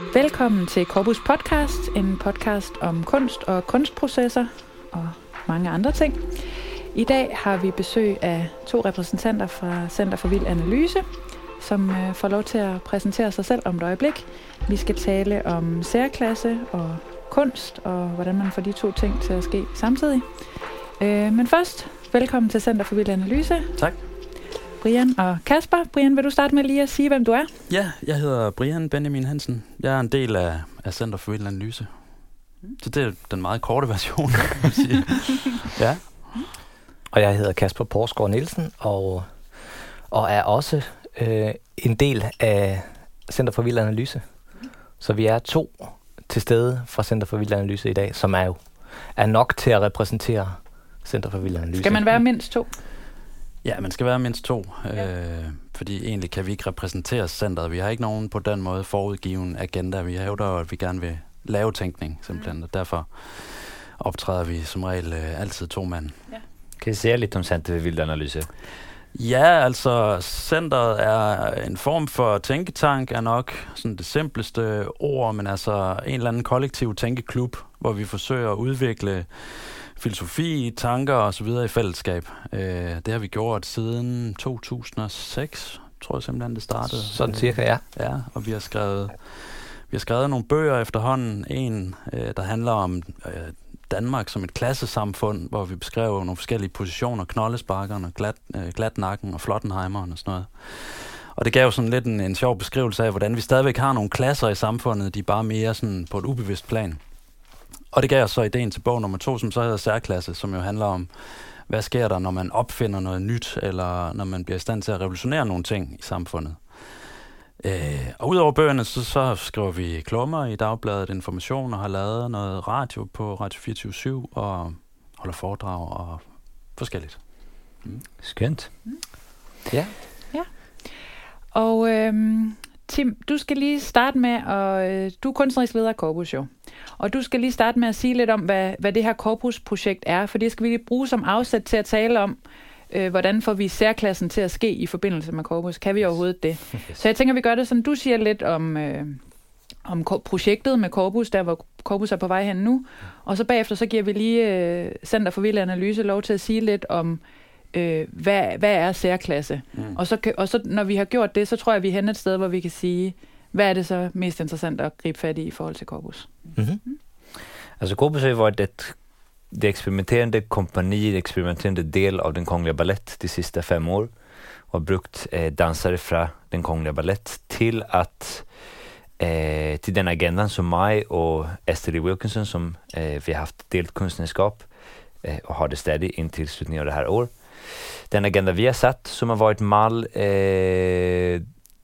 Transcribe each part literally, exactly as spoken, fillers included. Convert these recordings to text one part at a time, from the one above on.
Velkommen til Corpus Podcast, en podcast om kunst og kunstprocesser og mange andre ting. I dag har vi besøg af to repræsentanter fra Center for Vild Analyse, som øh, får lov til at præsentere sig selv om et øjeblik. Vi skal tale om særklasse og kunst, og hvordan man får de to ting til at ske samtidig. Øh, men først, velkommen til Center for Vild Analyse. Tak. Brian og Kasper. Brian, vil du starte med lige at sige, hvem du er? Ja, jeg hedder Brian Benjamin Hansen. Jeg er en del af, af Center for Vild Analyse. Så det er den meget korte version, kan man sige. Ja. Og jeg hedder Kasper Porsgaard Nielsen, og, og er også øh, en del af Center for Vild Analyse. Så vi er to til stede fra Center for Vild Analyse i dag, som er jo er nok til at repræsentere Center for Vild Analyse. Skal man være mindst to? Ja, man skal være mindst to, ja. øh, fordi egentlig kan vi ikke repræsentere centret. Vi har ikke nogen på den måde forudgiven agenda. Vi hævder, at vi gerne vil lave tænkning, simpelthen, og derfor optræder vi som regel øh, altid to mand. Ja. Kan I sige lidt om Center for Vild Analyse? Ja, altså centret er en form for tænketank, er nok sådan det simpleste ord, men altså en eller anden kollektiv tænkeklub, hvor vi forsøger at udvikle filosofi, tanker og så videre i fællesskab. Øh, det har vi gjort siden to tusind og seks, tror jeg simpelthen det startede. Sådan cirka, ja. Ja, og vi har skrevet vi har skrevet nogle bøger efterhånden. En, øh, der handler om øh, Danmark som et klassesamfund, hvor vi beskriver nogle forskellige positioner, knoldesparkeren og glat, øh, glatnakken og flottenheimeren og sådan noget. Og det gav jo sådan lidt en, en sjov beskrivelse af, hvordan vi stadigvæk har nogle klasser i samfundet, de er bare mere sådan på et ubevidst plan. Og det gav os så ideen til bog nummer to, som så hedder Særklasse, som jo handler om, hvad sker der, når man opfinder noget nyt, eller når man bliver i stand til at revolutionere nogle ting i samfundet. Øh, og udover bøgerne, så, så skriver vi klummer i Dagbladet Information, og har lavet noget radio på Radio fireogtyve syv, og holder foredrag og forskelligt. Mm. Skønt. Mm. Ja. Ja. Og øhm, Tim, du skal lige starte med, at øh, du er kunstnerisk leder af Corpus jo. Og du skal lige starte med at sige lidt om, hvad, hvad det her Corpus-projekt er, for det skal vi lige bruge som afsæt til at tale om, øh, hvordan får vi særklassen til at ske i forbindelse med Corpus. Kan vi overhovedet det? Yes. Så jeg tænker, vi gør det sådan, du siger lidt om, øh, om projektet med Corpus, der hvor Corpus er på vej hen nu, og så bagefter så giver vi lige øh, Center for Vild Analyse lov til at sige lidt om, øh, hvad, hvad er særklasse? Mm. Og, så, og så når vi har gjort det, så tror jeg, vi er hen et sted, hvor vi kan sige, hvad er det så mest interessant at gribe fat i i forhold til Corpus? Mm-hmm. Mm. Altså Corpus har varit ett det experimenterande kompani, det experimenterande del av den Kongliga Ballett de sista fem år och har brukt eh, dansare från den Kongliga Ballett till att eh, till den agendan som mig och Esther Wilkinson som eh, vi har haft delt konstnärskap eh, och har det stadig in till slutningen av det här år. Den agenda vi har satt som har varit mall eh,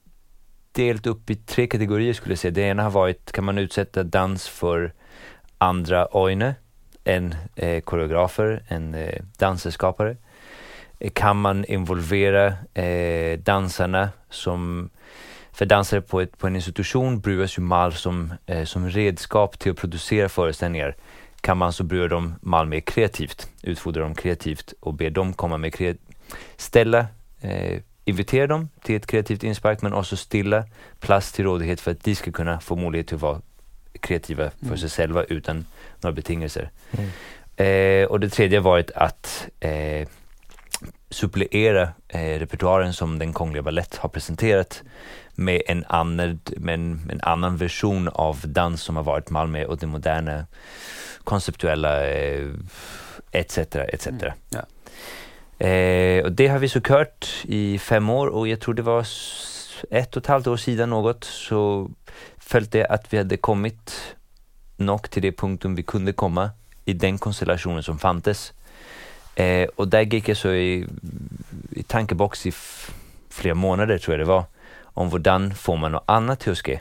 delt upp i tre kategorier skulle jag säga. Det ena har varit, kan man utsätta dans för andra öjne, en eh, koreografer, en eh, dansskapare. Eh, kan man involvera eh, dansarna som, för dansare på, ett, på en institution brukas ju mal som, eh, som redskap till att producera föreställningar. Kan man så bruka dem mal mer kreativt, utfodra dem kreativt och be dem komma med kreat- ställa eh, invitera dem till ett kreativt inspark, men också stilla plats till rådighet för att de ska kunna få möjlighet till att vara kreativa för mm. sig själva utan några betingelser. Mm. Eh, och det tredje har varit att eh, supplera eh, repertoaren som den Kongliga Ballett har presenterat med en annan, med en, en annan version av dans som har varit Malmö och det moderna konceptuella eh, et cetera et cetera. Mm. Ja. Eh, och det har vi så kört i fem år och jag tror det var ett och ett halvt år sedan något så följde det att vi hade kommit nog till det punktum vi kunde komma i den konstellationen som fanns. Eh, och där gick jag så i, i tankebox i f- flera månader tror jag det var om hvordan får man något annat till att ske.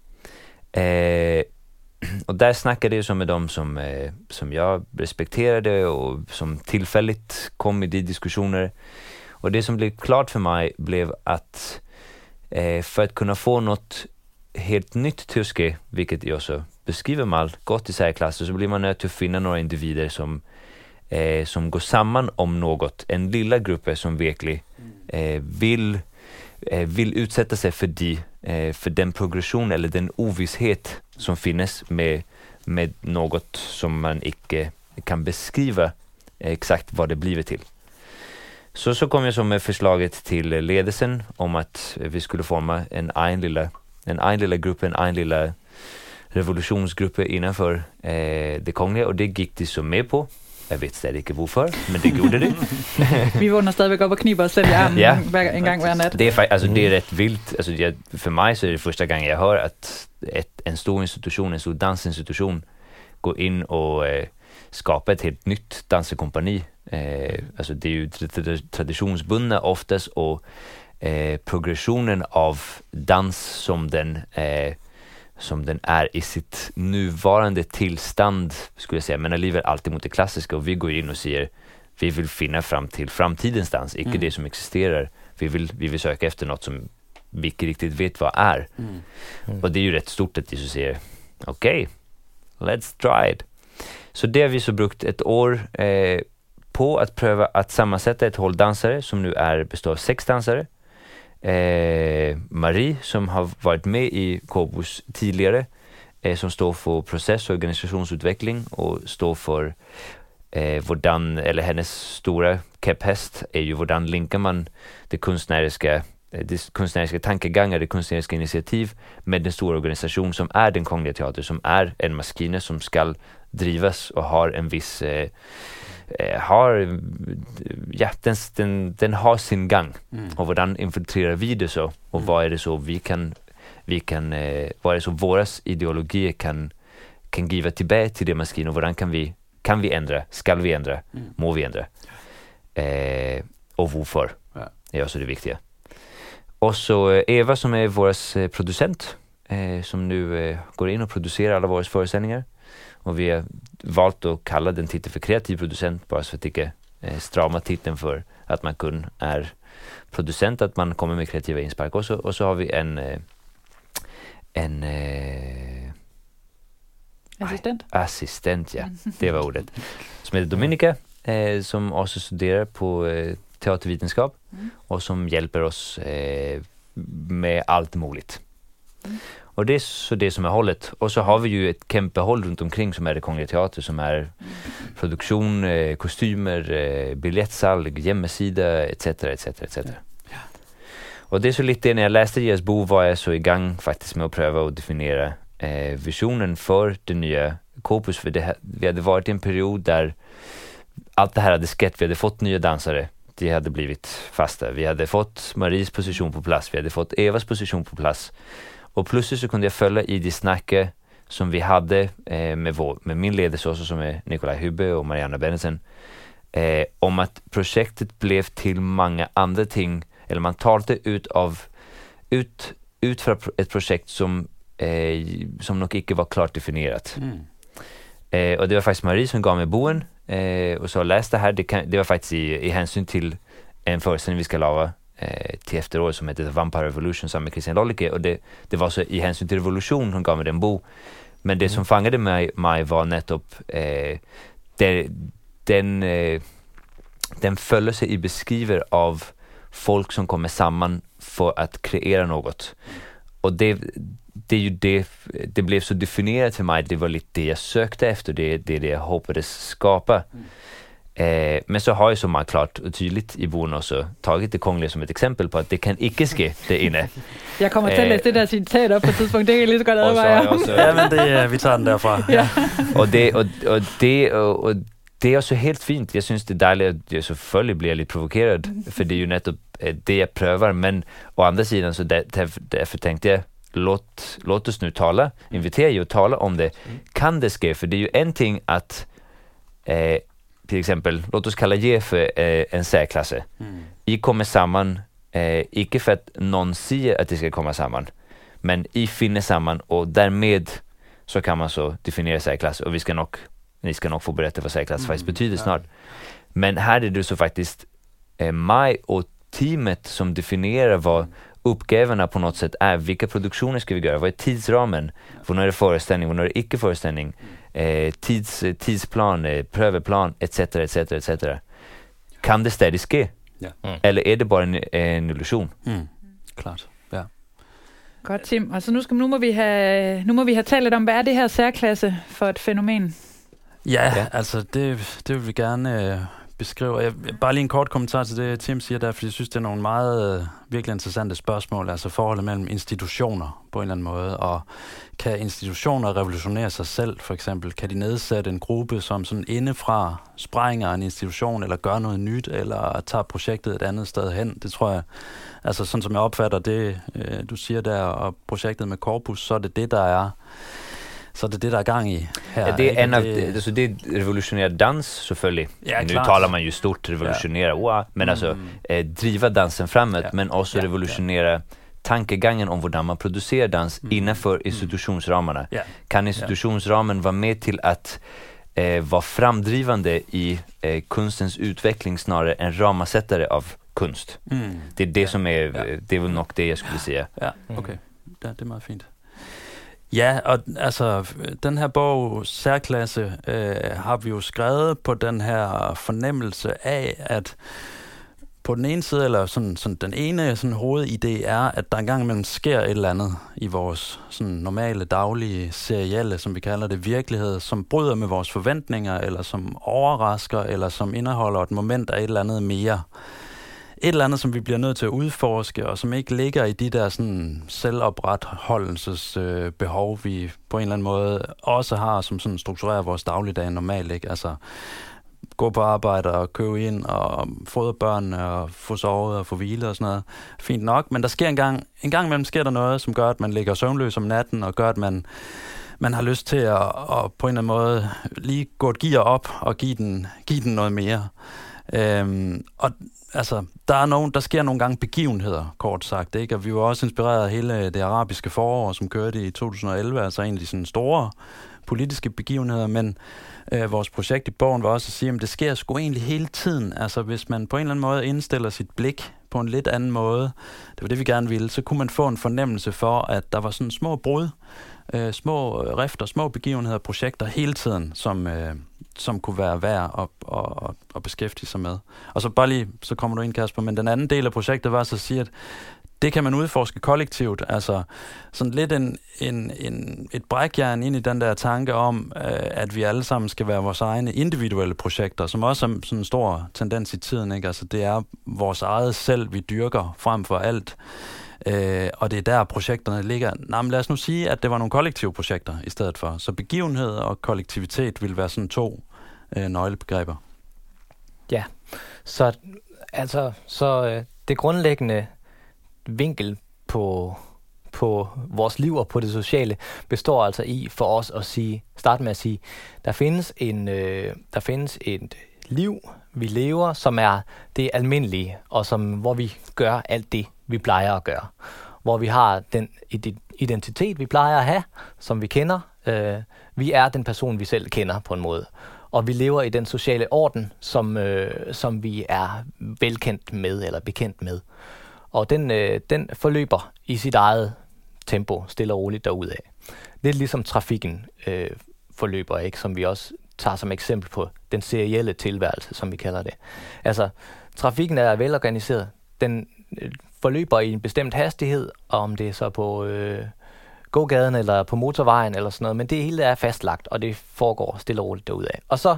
Eh, och där snackade jag så med dem som, eh, som jag respekterade och som tillfälligt kom i de diskussioner. Och det som blev klart för mig blev att eh, för att kunna få något helt nytt till att ske, vilket jag så beskriver med allt gott i särklasser, så blir man nöjd till att finna några individer som, eh, som går samman om något. En lilla grupp som verkligen eh, vill, eh, vill utsätta sig för de Eh, för den progression eller den ovisshet som finns med, med något som man inte kan beskriva eh, exakt vad det blir till. Så, så kom jag så med förslaget till ledelsen om att vi skulle forma en egen lilla, en egen lilla grupp, en egen lilla revolutionsgrupp innanför eh, det kongliga, och det gick de så med på. Jag vet stadig inte varför, men det gjorde det. Vi vågnar stadigvæk op og kniber os selv i armen ja, en gang hver nat. Det är, alltså, det är rätt vilt. Alltså, jag, för mig så är det första gången jag hör att ett, en stor institution, en stor dansinstitution går in och eh, skapar ett helt nytt dansekompani. Eh, alltså, det är ju traditionsbundna oftast, och eh, progressionen av dans som den eh, som den är i sitt nuvarande tillstånd, skulle jag säga, men alligevel alltid mot det klassiska, och vi går in och säger vi vill finna fram till framtidens dans, inte mm. det som existerar. Vi vill, vi vill söka efter något som vi inte riktigt vet vad är. Mm. Mm. Och det är ju rätt stort att de så säger okej, okay, let's try it. Så det har vi så brukt ett år eh, på att pröva att sammansätta ett håll dansare som nu är består av sex dansare. Eh, Marie som har varit med i Kåbus tidigare, eh, som står för process- och organisationsutveckling och står för eh, hvordan, eller hennes stora käpphäst är ju hvordan linkar man det konstnärliga, det konstnärliga tankegångar, det konstnärliga initiativ med den stora organisation som är den Kongliga Teater, som är en maskine som ska drivas och har en viss eh, har ja, den, den, den har sin gang, mm. och hvordan infiltrerar vi det så, och mm. vad är det så vi kan vi kan eh, vad är det så våras ideologier kan kan giva tillbaka till det maskinen, och hvordan kan vi kan vi ändra, ska vi ändra, mm. må vi ändra, eh, och varför, ja. Det är också det viktiga. Och så Eva som är vår producent, eh, som nu eh, går in och producerar alla våra föreställningar. Och vi har valt att kalla den titeln för kreativ producent, bara så att det inte eh, strama titeln för att man kun är producent, att man kommer med kreativa inspark. Och så, och så har vi en eh, en eh, assistent. Aj, assistent, ja. Det var ordet. Som heter Dominika, eh, som också studerar på eh, teatervetenskap mm. och som hjälper oss eh, med allt möjligt. Mm. Och det är så det som är hållet. Och så har vi ju ett kämpehåll runt omkring som är det Kongliga Teater, som är mm. produktion, eh, kostymer, eh, biljettsal, hemsida, et cetera et cetera et cetera. Ja. Och det är så lite, när jag läste deras bok var jag så igång faktiskt med att pröva att definiera eh, visionen för det nya Kåbus. För det, vi hade varit i en period där allt det här hade skett. Vi hade fått nya dansare. De hade blivit fasta. Vi hade fått Maries position på plats. Vi hade fått Evas position på plats. Och plötsligt så kunde jag följa i de snacket som vi hade eh, med, vår, med min ledelse också, som är Nikolaj Hubbe och Marianna Bennetsen, eh, om att projektet blev till många andra ting, eller man talade ut av ut, ut för ett projekt som, eh, som nog inte var klart definierat. Mm. Eh, och det var faktiskt Marie som gav mig boen eh, och så läste det här. Det, kan, det var faktiskt i, i hänsyn till en föreställning vi ska lava eh, till efteråret som heter The Vampire Revolution sammen med Christian Lollike, och det, det var så i hänsyn till revolution som gav mig den bo. Men det mm. som fangade mig, mig var nettopp eh, det, den eh, den följer sig i beskriver av folk som kommer samman för att kreera något. Och det det är ju det det blev så definierat för mig. Det var lite det jag sökte efter, det det, det jag hoppades skapa. Mm. Eh, men så har jag så man klart och tydligt i boken också tagit det kongliga som ett exempel på att det kan icke ske det inne. Jag kommer att läsa det där citat upp på ett tidspunkt, det är lite gott att vara. Ja, men det vi tar den därifrån. Ja. Och det och, och det och, och det är också helt fint. Jag syns det är dejligt att jag så följer blir lite provokerad, för det är ju nettopp det jag prövar, men å andra sidan så där, därför tänkte jag låt låt oss nu tala, invitera ju att tala om det. Kan det ske? För det är ju en ting att eh, till exempel, låt oss kalla G för eh, en särklasse. Mm. I kommer samman, eh, icke för att någon säger att det ska komma samman, men i finner samman, och därmed så kan man så definiera särklass, och vi ska nog, ni ska nog få berätta vad särklass mm. faktiskt betyder snart. Men här är det så faktiskt eh, mig och teamet som definierar vad uppgifterna på något sätt är. Vilka produktioner ska vi göra? Vad är tidsramen? Vad är det föreställning? Vad är det icke föreställning? Eh, tids, tidsplan, eh, pröveplan, et cetera et cetera et cetera. Kan det stadigt ske? Ja. Mm. Eller är det bara en, en illusion? Mm. Klart, ja. Godt, Tim. Og så nu, skal, nu, må vi have, nu må vi have talt lidt om, hvad er det her særklasse for et fænomen? Ja, ja. altså det, det vil vi gerne øh, beskrive. Jeg, bare lige en kort kommentar til det, Tim siger der, fordi jeg synes, det er nogle meget øh, virkelig interessante spørgsmål. Altså forholdet mellem institutioner på en eller anden måde, og kan institutioner revolutionere sig selv, for eksempel? Kan de nedsætte en gruppe, som sådan indefra sprænger en institution, eller gør noget nyt, eller tager projektet et andet sted hen? Det tror jeg, altså sådan som jeg opfatter det, øh, du siger der, og projektet med Corpus, så er det det, der er Så det er det, der er gang i her. Ja, det er en av, det, alltså det är revolutionär dans selvfølgelig. Ja, nu klart. talar man ju stort revolutionera, ja. wow, men mm. alltså eh, driva dansen framåt, ja. men också ja. revolutionera ja. tankegangen om hur man producerar dans mm. innanför institutionsramarna. Ja. Kan institutionsramen vara med till att eh, vara framdrivande i eh, kunstens utveckling snarare än ramasättare av kunst? Mm. Det är det ja. som är, ja. det är väl nog det jag skulle säga. Ja, okej. Okay. Ja, det är meget fint. Ja, og altså, den her bog, Særklasse, øh, har vi jo skrevet på den her fornemmelse af, at på den ene side, eller sådan, sådan den ene sådan hovedidé er, at der engang imellem sker et eller andet i vores sådan normale, daglige, serielle, som vi kalder det, virkelighed, som bryder med vores forventninger, eller som overrasker, eller som indeholder et moment af et eller andet mere. Et eller andet, som vi bliver nødt til at udforske, og som ikke ligger i de der sådan selvopretholdelsesbehov, øh, vi på en eller anden måde også har, som sådan strukturerer vores dagligdag normalt, ikke? Altså gå på arbejde og købe ind og fodre børnene og få sovet og få hvile og sådan noget. Fint nok, men der sker en gang, en gang imellem sker der noget, som gør, at man ligger søvnløs om natten, og gør, at man, man har lyst til at, at på en eller anden måde lige gå et gear op og give den, give den noget mere. Øhm, og altså, der er nogen, der sker nogle gange begivenheder, kort sagt, ikke? Og vi var også inspireret af hele det arabiske forår, som kørte i to tusind og elleve, altså egentlig sådan store politiske begivenheder, men øh, vores projekt i bogen var også at sige, at det sker sgu egentlig hele tiden. Altså, hvis man på en eller anden måde indstiller sit blik på en lidt anden måde, det var det, vi gerne ville, så kunne man få en fornemmelse for, at der var sådan små brud, øh, små rifter, små begivenheder, projekter hele tiden, som... Øh, som kunne være værd at, at, at beskæftige sig med. Og så bare lige, så kommer du ind, Kasper, men den anden del af projektet var så at sige, at det kan man udforske kollektivt, altså sådan lidt en, en, en, et brækjern ind i den der tanke om, at vi alle sammen skal være vores egne individuelle projekter, som også er sådan en stor tendens i tiden, ikke? Altså det er vores eget selv, vi dyrker frem for alt. Øh, og det er der, projekterne ligger. Nå, men lad os nu sige, at det var nogle kollektive projekter i stedet for. Så begivenhed og kollektivitet vil være sådan to øh, nøglebegreber. Ja, så altså så øh, det grundlæggende vinkel på på vores liv og på det sociale består altså i for os at sige, starte med at sige, der findes en øh, der findes et liv, vi lever, som er det almindelige, og som hvor vi gør alt det, vi plejer at gøre. Hvor vi har den identitet, vi plejer at have, som vi kender. Øh, vi er den person, vi selv kender på en måde. Og vi lever i den sociale orden, som, øh, som vi er velkendt med eller bekendt med. Og den, øh, den forløber i sit eget tempo, stille og roligt derudad. Lidt ligesom trafikken øh, forløber, ikke, som vi også tager som eksempel på den serielle tilværelse, som vi kalder det. Altså, trafikken er velorganiseret. Den øh, forløber i en bestemt hastighed, om det er så på øh, gågaden eller på motorvejen eller sådan noget, men det hele er fastlagt, og det foregår stille og roligt derudad. Og så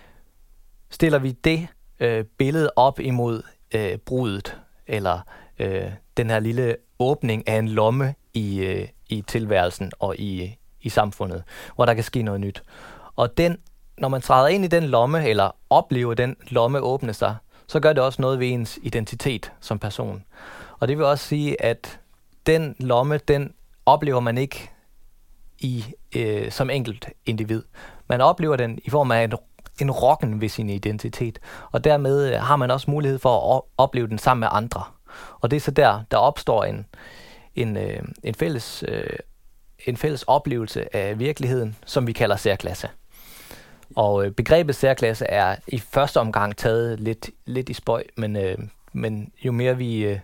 stiller vi det øh, billede op imod øh, brudet, eller øh, den her lille åbning af en lomme i, øh, i tilværelsen og i, i samfundet, hvor der kan ske noget nyt. Og den, når man træder ind i den lomme, eller oplever den lomme åbne sig, så gør det også noget ved ens identitet som person. Og det vil også sige, at den lomme, den oplever man ikke i, øh, som enkelt individ. Man oplever den i form af en, en rokken ved sin identitet. Og dermed har man også mulighed for at opleve den sammen med andre. Og det er så der, der opstår en, en, øh, en, fælles, øh, en fælles oplevelse af virkeligheden, som vi kalder særklasse. Og øh, begrebet særklasse er i første omgang taget lidt, lidt i spøj, men, øh, men jo mere vi øh,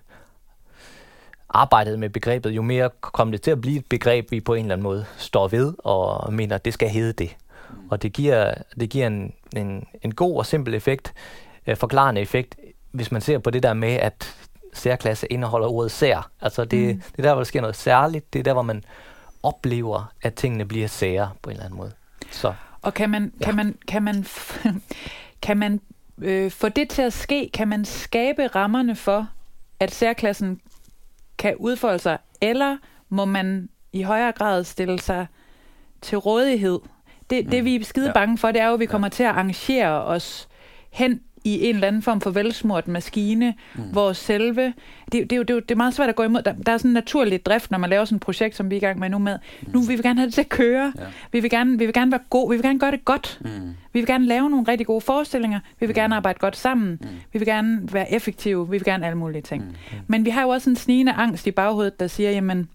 arbejdede med begrebet, jo mere kom det til at blive et begreb, vi på en eller anden måde står ved og mener, at det skal hedde det. Og det giver, det giver en, en, en god og simpel effekt, øh, forklarende effekt, hvis man ser på det der med, at særklasse indeholder ordet sær. Altså det, Mm. det er der, hvor der sker noget særligt. Det er der, hvor man oplever, at tingene bliver sære på en eller anden måde. Så. Og kan man, Ja. kan man, kan man, f- kan man øh, få det til at ske? Kan man skabe rammerne for, at særklassen kan udfolde sig? Eller må man i højere grad stille sig til rådighed? Det, mm. det vi er skide Ja. bange for, det er jo, at vi kommer til at arrangere os hen i en eller anden form for velsmurt maskine, mm. hvor selve... Det, det, er jo, det, er jo, det er meget svært at gå imod. Der, der er sådan en naturlig drift, når man laver sådan et projekt, som vi er i gang med nu med. Mm. Nu vil vi gerne have det til at køre. Ja. Vi vil gerne, vi vil gerne være gode. Vi vil gerne gøre det godt. Mm. Vi vil gerne lave nogle rigtig gode forestillinger. Vi vil gerne arbejde godt sammen. Mm. Vi vil gerne være effektive. Vi vil gerne alle mulige ting. Mm. Men vi har jo også en snigende angst i baghovedet, der siger, jamen,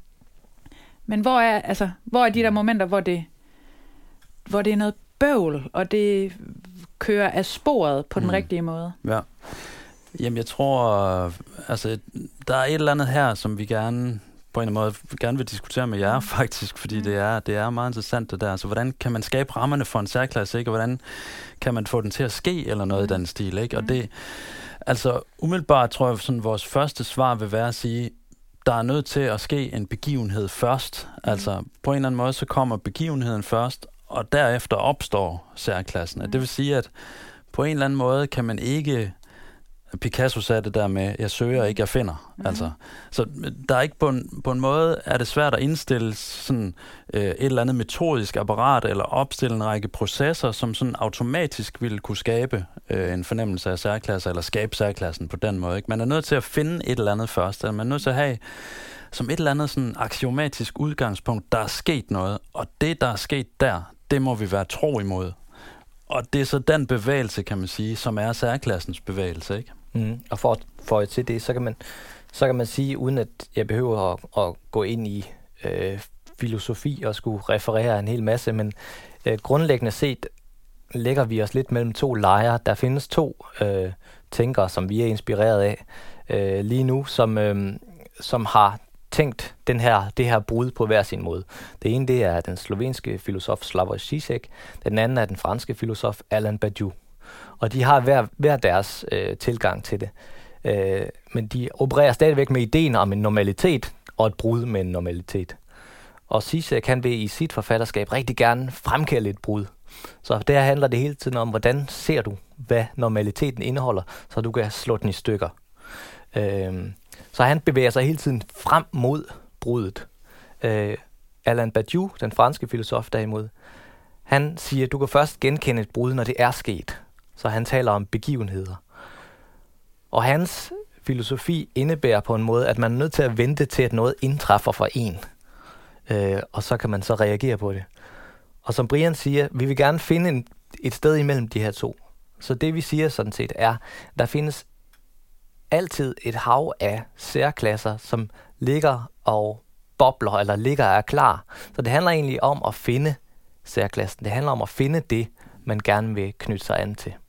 men hvor er, altså, hvor er de der momenter, hvor det, hvor det er noget bøvl, og det kører af sporet på den Mm. rigtige måde? Ja. Jamen, jeg tror, øh, altså, der er et eller andet her, som vi gerne på en eller anden måde gerne vil diskutere med jer, faktisk, fordi Mm. det er, det er meget interessant, det der. Altså, hvordan kan man skabe rammerne for en særklasse, ikke? Og hvordan kan man få den til at ske, eller noget Mm. i den stil, ikke? Og Mm. det, altså, umiddelbart tror jeg, sådan vores første svar vil være at sige, der er nødt til at ske en begivenhed først. Mm. Altså, på en eller anden måde, så kommer begivenheden først, og derefter opstår særklassen. Mm. Det vil sige, at på en eller anden måde kan man ikke... Picasso sagde det der med, jeg søger ikke, jeg finder. Mm. Altså, så der er ikke på en, på en måde, er det svært at indstille sådan, øh, et eller andet metodisk apparat, eller opstille en række processer, som sådan automatisk ville kunne skabe øh, en fornemmelse af særklasser, eller skabe særklassen på den måde. Ikke? Man er nødt til at finde et eller andet først, eller man er nødt til at have som et eller andet sådan aksiomatisk udgangspunkt, der er sket noget, og det, der er sket der, det må vi være tro imod. Og det er så den bevægelse, kan man sige, som er særklassens bevægelse, ikke? Mm. Og for at føje til det, så kan man, så kan man sige, uden at jeg behøver at, at gå ind i øh, filosofi og skulle referere en hel masse, men øh, grundlæggende set lægger vi os lidt mellem to lejre. Der findes to øh, tænkere, som vi er inspireret af øh, lige nu, som, øh, som har tænkt den her, det her brud på hver sin måde. Det ene, det er den slovenske filosof Slavoj Žižek, den anden er den franske filosof Alain Badiou. Og de har hver, hver deres øh, tilgang til det. Øh, men de opererer stadigvæk med ideen om en normalitet og et brud med en normalitet. Og Žižek kan vil i sit forfatterskab rigtig gerne fremkalde et brud. Så der handler det hele tiden om, hvordan ser du, hvad normaliteten indeholder, så du kan slå den i stykker. Øh, Så han bevæger sig hele tiden frem mod bruddet. Øh, Alain Badiou, den franske filosof derimod, han siger, at du kan først genkende et brud, når det er sket. Så han taler om begivenheder. Og hans filosofi indebærer på en måde, at man er nødt til at vente til, at noget indtræffer for en. Øh, og så kan man så reagere på det. Og som Brian siger, vi vil gerne finde en, et sted imellem de her to. Så det vi siger sådan set er, der findes altid et hav af særklasser, som ligger og bobler, eller ligger og er klar. Så det handler egentlig om at finde særklassen. Det handler om at finde det, man gerne vil knytte sig an til.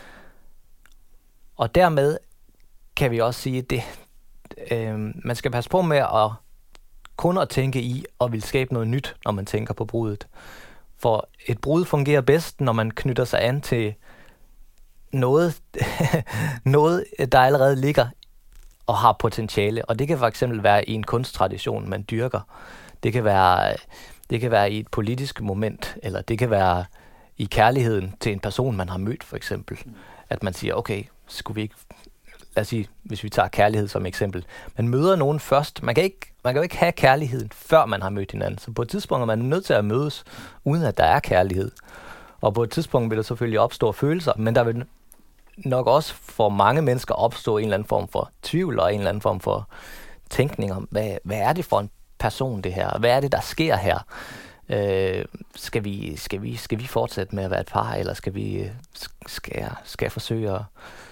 Og dermed kan vi også sige, at det, øh, man skal passe på med at kun at tænke i og vil skabe noget nyt, når man tænker på bruddet. For et brud fungerer bedst, når man knytter sig an til noget, noget, der allerede ligger og har potentiale. Og det kan for eksempel være i en kunsttradition, man dyrker. Det kan være, det kan være i et politisk moment, eller det kan være i kærligheden til en person, man har mødt, for eksempel. At man siger, okay, skulle vi ikke... Lad os sige, hvis vi tager kærlighed som eksempel. Man møder nogen først. Man kan, ikke, man kan jo ikke have kærligheden, før man har mødt hinanden. Så på et tidspunkt er man nødt til at mødes, uden at der er kærlighed. Og på et tidspunkt vil der selvfølgelig opstå følelser, men der vil nok også for mange mennesker opstå en eller anden form for tvivl og en eller anden form for tænkning om, hvad, hvad er det for en person det her? Hvad er det, der sker her? Øh, skal, vi, skal, vi, skal vi fortsætte med at være et par, eller skal, vi, skal, jeg, skal jeg forsøge at,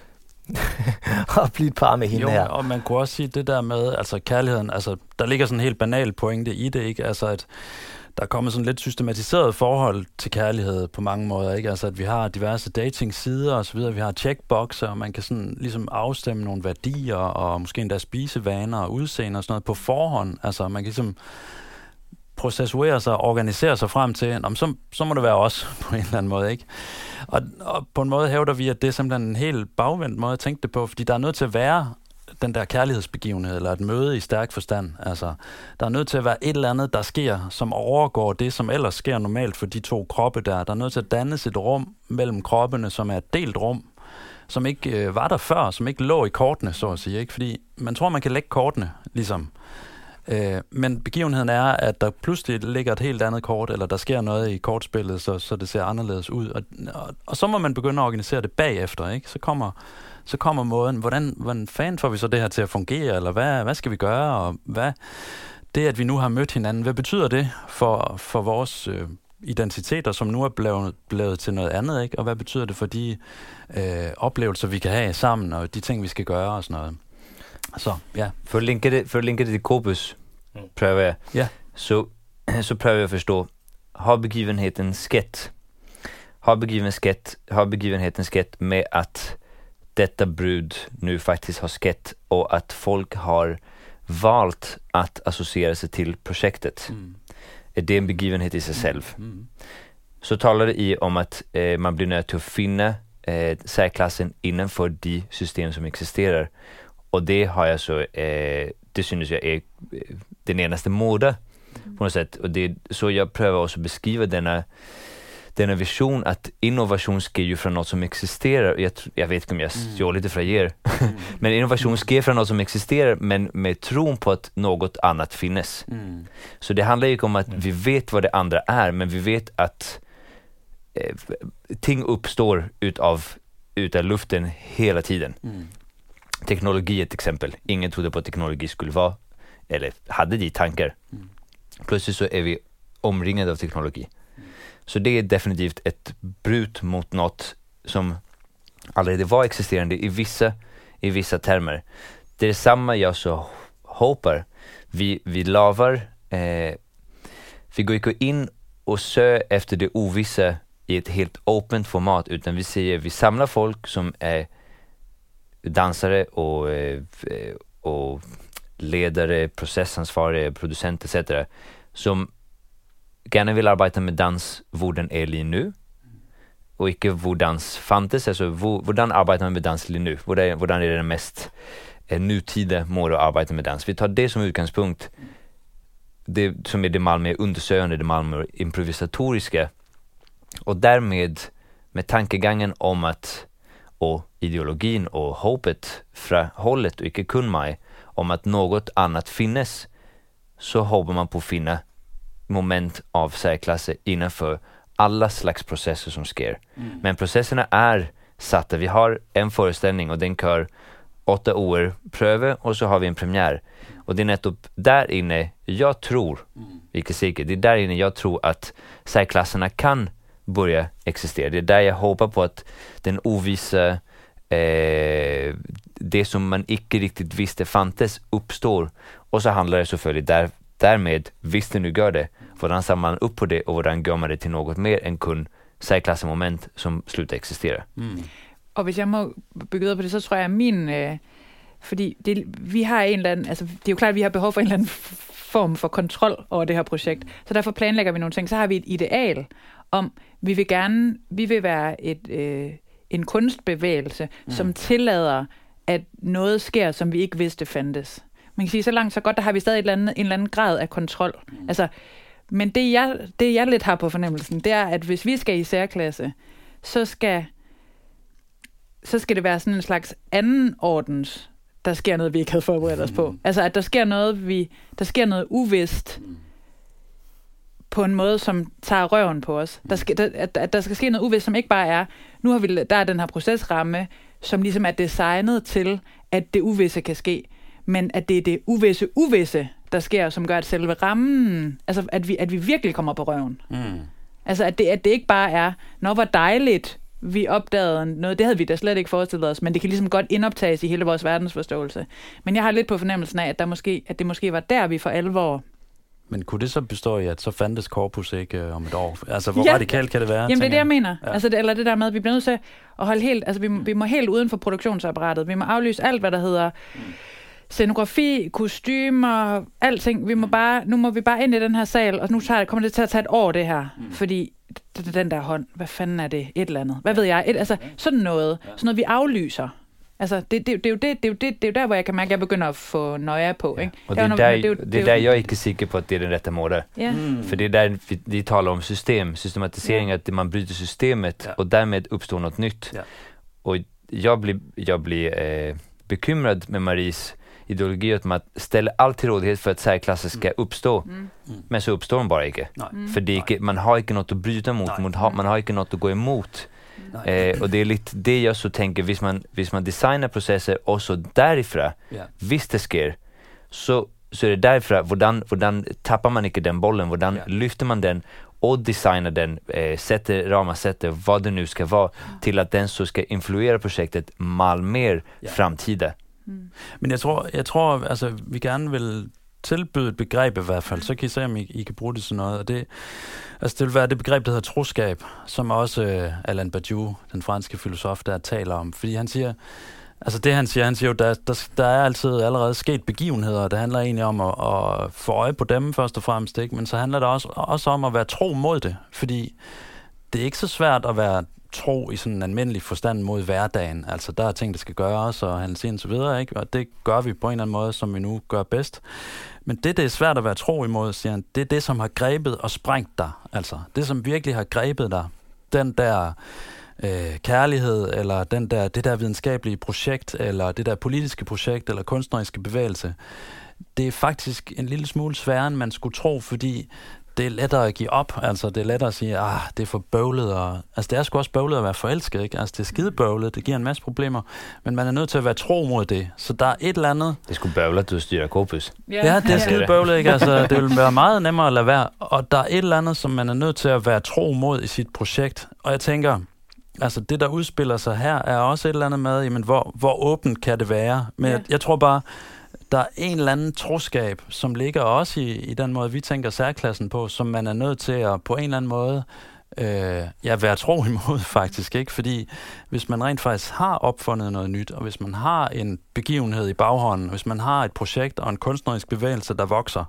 at blive et par med hende jo, her? Og man kunne også sige det der med, altså kærligheden, altså der ligger sådan en helt banal pointe i det, ikke? Altså at der er kommet sådan lidt systematiseret forhold til kærlighed på mange måder, ikke? Altså at vi har diverse dating-sider og så videre, vi har checkboxer, og man kan sådan ligesom afstemme nogle værdier, og måske endda spisevaner og udseende og sådan noget på forhånd. Altså man kan ligesom processuere sig og organisere sig frem til, om så, så må det være os på en eller anden måde, ikke? Og, og på en måde hævder vi, at det er simpelthen en helt bagvendt måde at tænke det på, fordi der er nødt til at være den der kærlighedsbegivenhed, eller et møde i stærk forstand. Altså, der er nødt til at være et eller andet, der sker, som overgår det, som ellers sker normalt for de to kroppe der. Der er nødt til at dannes et rum mellem kroppene, som er et delt rum, som ikke øh, var der før, som ikke lå i kortene, så at sige. Ikke? Fordi man tror, man kan lægge kortene, ligesom. Øh, men begivenheden er, at der pludselig ligger et helt andet kort, eller der sker noget i kortspillet, så, så det ser anderledes ud. Og, og, og så må man begynde at organisere det bagefter, ikke? Så kommer, så kommer måden, hvordan, hvordan fanden får vi så det her til at fungere, eller hvad, hvad skal vi gøre, og hvad det, at vi nu har mødt hinanden, hvad betyder det for, for vores øh, identiteter, som nu er blevet, blevet til noget andet, ikke? Og hvad betyder det for de øh, oplevelser, vi kan have sammen, og de ting, vi skal gøre, og sådan noget. Så, ja. For at linke det, for at linke det til Corpus, mm. prøver jeg, ja. så, så prøver jag förstå, har begivenheten skett? Har begivenheten skett, har begivenheten skett med att detta brud nu faktiskt har skett och att folk har valt att associera sig till projektet? Mm. Är det en begivenhet i sig själv? Mm. Så talar det i om att eh, man blir nöjd till att finna eh, särklassen innanför de system som existerar. Och det har jag så, eh, det synes jag är den enaste måte mm. på något sätt. Och det är så jag prövar också beskriva denna, denna vision att innovation sker ju från något som existerar. Jag, jag vet inte om jag mm. står lite från er. Mm. Men innovation sker från något som existerar, men med tron på att något annat finnes. Mm. Så det handlar ju inte om att mm. vi vet vad det andra är, men vi vet att eh, ting uppstår utav, utav luften hela tiden. Mm. Teknologi är ett exempel. Ingen trodde på att teknologi skulle vara, eller hade de tankar. Mm. Plötsligt så är vi omringade av teknologi. Mm. Så det är definitivt ett brut mot något som allerede var existerande i vissa, i vissa termer. Det är samma jag så hoppas. Vi, vi lavar, eh, vi går inte in och sö efter det ovissa i ett helt open format, utan vi säger vi samlar folk som är dansare och, och ledare, processansvariga, producenter et cetera som gärna vill arbeta med dans hvor den är lige nu och inte hvor dans fantes, alltså hvordan arbetar man med dans lige nu, hvordan är det den mest eh, nutida mål att arbeta med dans. Vi tar det som utgangspunkt, det som är det Malmö undersökande, det Malmö improvisatoriska, och därmed med tankegången om att och ideologin och hoppet från hållet och icke kun mig om att något annat finnes, så hoppas man på att finna moment av särklasse innanför alla slags processer som sker. Mm. Men processerna är satta. Vi har en föreställning och den kör åtta år pröve och så har vi en premiär. Och det är nettopp där inne jag tror, mm. icke säkert, det är där inne jag tror att särklasserna kan börja existera. Det är där jag hoppas på att den ovissa, eh, det som man icke riktigt visste fantes uppstår. Och så handlar det selvfølgelig där, därmed, visst det nu gör det, hvordan samlar man upp på det och hvordan gør man det till något mer än kun särklassemoment som slutar existera. Mm. Og hvis jeg må bygge videre på det, så tror jeg, at min... Øh, fordi det, vi har en eller anden... Altså, det er jo klart, at vi har behov for en eller anden form for kontrol over det her projekt. Så derfor planlægger vi nogle ting. Så har vi et ideal om, vi vil gerne... Vi vil være et, øh, en kunstbevægelse, mm. som tillader, at noget sker, som vi ikke vidste fandtes. Man kan sige, så langt så godt, der har vi stadig et eller andet, en eller anden grad af kontrol. Mm. Altså, men det jeg, det, jeg lidt har på fornemmelsen, det er, at hvis vi skal i særklasse, så skal... så skal det være sådan en slags anden ordens, der sker noget, vi ikke havde forberedt os på. Altså, at der sker noget, vi, der sker noget uvist på en måde, som tager røven på os. Der skal, der, at, at der skal ske noget uvist, som ikke bare er, nu har vi, der er den her procesramme, som ligesom er designet til, at det uvisse kan ske, men at det er det uvisse uvisse, der sker, som gør, at selve rammen, altså, at vi, at vi virkelig kommer på røven. Mm. Altså, at det, at det ikke bare er, nå, hvor dejligt, vi opdagede noget, det havde vi da slet ikke forestillet os, men det kan ligesom godt indoptages i hele vores verdensforståelse. Men jeg har lidt på fornemmelsen af, at, der måske, at det måske var der, vi for alvor... Men kunne det så bestå i, at så fandtes Corpus ikke øh, om et år? Altså, hvor ja. radikalt kan det være? Jamen, det er det, jeg mener. Ja. Altså, det, eller det der med, at vi bliver nødt til at holde helt... Altså, vi, vi må helt uden for produktionsapparatet. Vi må aflyse alt, hvad der hedder scenografi, kostymer, alting. Vi må bare, nu må vi bare ind i den her sal, og nu tager, kommer det til at tage et år, det her. Mm. Fordi den der hånd, hvad fanden er det? Et eller andet. Hvad ved jeg? Et, altså, sådan noget. Sådan noget, vi aflyser. Altså, det, det, det, er jo det, det, er jo det, det er jo der, hvor jeg kan mærke, at jeg begynder at få nøje på. Ja. Ikke? Og det er, der, der, det, er jo, det, det er der, jeg ikke er sikker på, at det er den rette måde. Ja. Mm. För det är där vi, vi talar om system, systematisering, Ja. att man bryter systemet Ja. och därmed uppstår något nytt. Ja. Och jag blir, jag blir eh, bekymrad med Maries ideologi att man ställer allt till rådighet för att särklasser ska Mm. uppstå. Mm. Mm. Men så uppstår de bara inte. Nej. Mm. För det är inte, man har inte något att bryta mot, Nej. mot ha, man har inte något att gå emot. Nej. Eh, och det är lite det jag så tänker, hvis man, hvis man designar processer och så därifrån, Ja. hvis det sker, så, så är det därifrån, hvordan, hvordan tappar man inte den bollen, hvordan Ja. lyfter man den och designar den, eh, sätter ramar, sätter vad det nu ska vara, till att den så ska influera projektet mal mer Ja. framtida. Mm. Men jeg tror, jeg tror, altså, vi gerne vil tilbyde et begreb i hvert fald, så kan I se, om I, I kan bruge det til noget. Og det, altså, det vil være det begreb, der hedder troskab, som også uh, Alain Badiou, den franske filosof, der taler om. Fordi han siger, altså det han siger, han siger jo, der, der, der er altid allerede sket begivenheder, og det handler egentlig om at, at få øje på dem først og fremmest, ikke? Men så handler det også, også om at være tro mod det, fordi det er ikke så svært at være tro i sådan en almindelig forstand mod hverdagen. Altså, der er ting, der skal gøres, og handles ind og så videre, ikke? Og det gør vi på en eller anden måde, som vi nu gør bedst. Men det, det er svært at være tro imod, siger han, det er det, som har grebet og sprængt dig. Altså, det, som virkelig har grebet dig. Den der øh, kærlighed, eller den der, det der videnskabelige projekt, eller det der politiske projekt, eller kunstneriske bevægelse. Det er faktisk en lille smule sværere, end man skulle tro, fordi det er lettere at give op, altså det er lettere at sige, ah, det er for bøvlet, og altså det er sgu også bøvlet at være forelsket, ikke? Altså det er skide bøvlet, det giver en masse problemer, men man er nødt til at være tro mod det, så der er et eller andet. Det skulle bøvle, at du styrer Corpus. Ja, det er skide bøvlet, ikke? Altså det vil være meget nemmere at lade være, og der er et eller andet, som man er nødt til at være tro mod i sit projekt, og jeg tænker, altså det der udspiller sig her, er også et eller andet med, jamen hvor, hvor åbent kan det være, men Ja. jeg, jeg tror bare, der er en eller anden troskab, som ligger også i, i den måde, vi tænker særklassen på, som man er nødt til at på en eller anden måde øh, ja, være tro imod faktisk, ikke? Fordi hvis man rent faktisk har opfundet noget nyt, og hvis man har en begivenhed i baghånden, hvis man har et projekt og en kunstnerisk bevægelse, der vokser,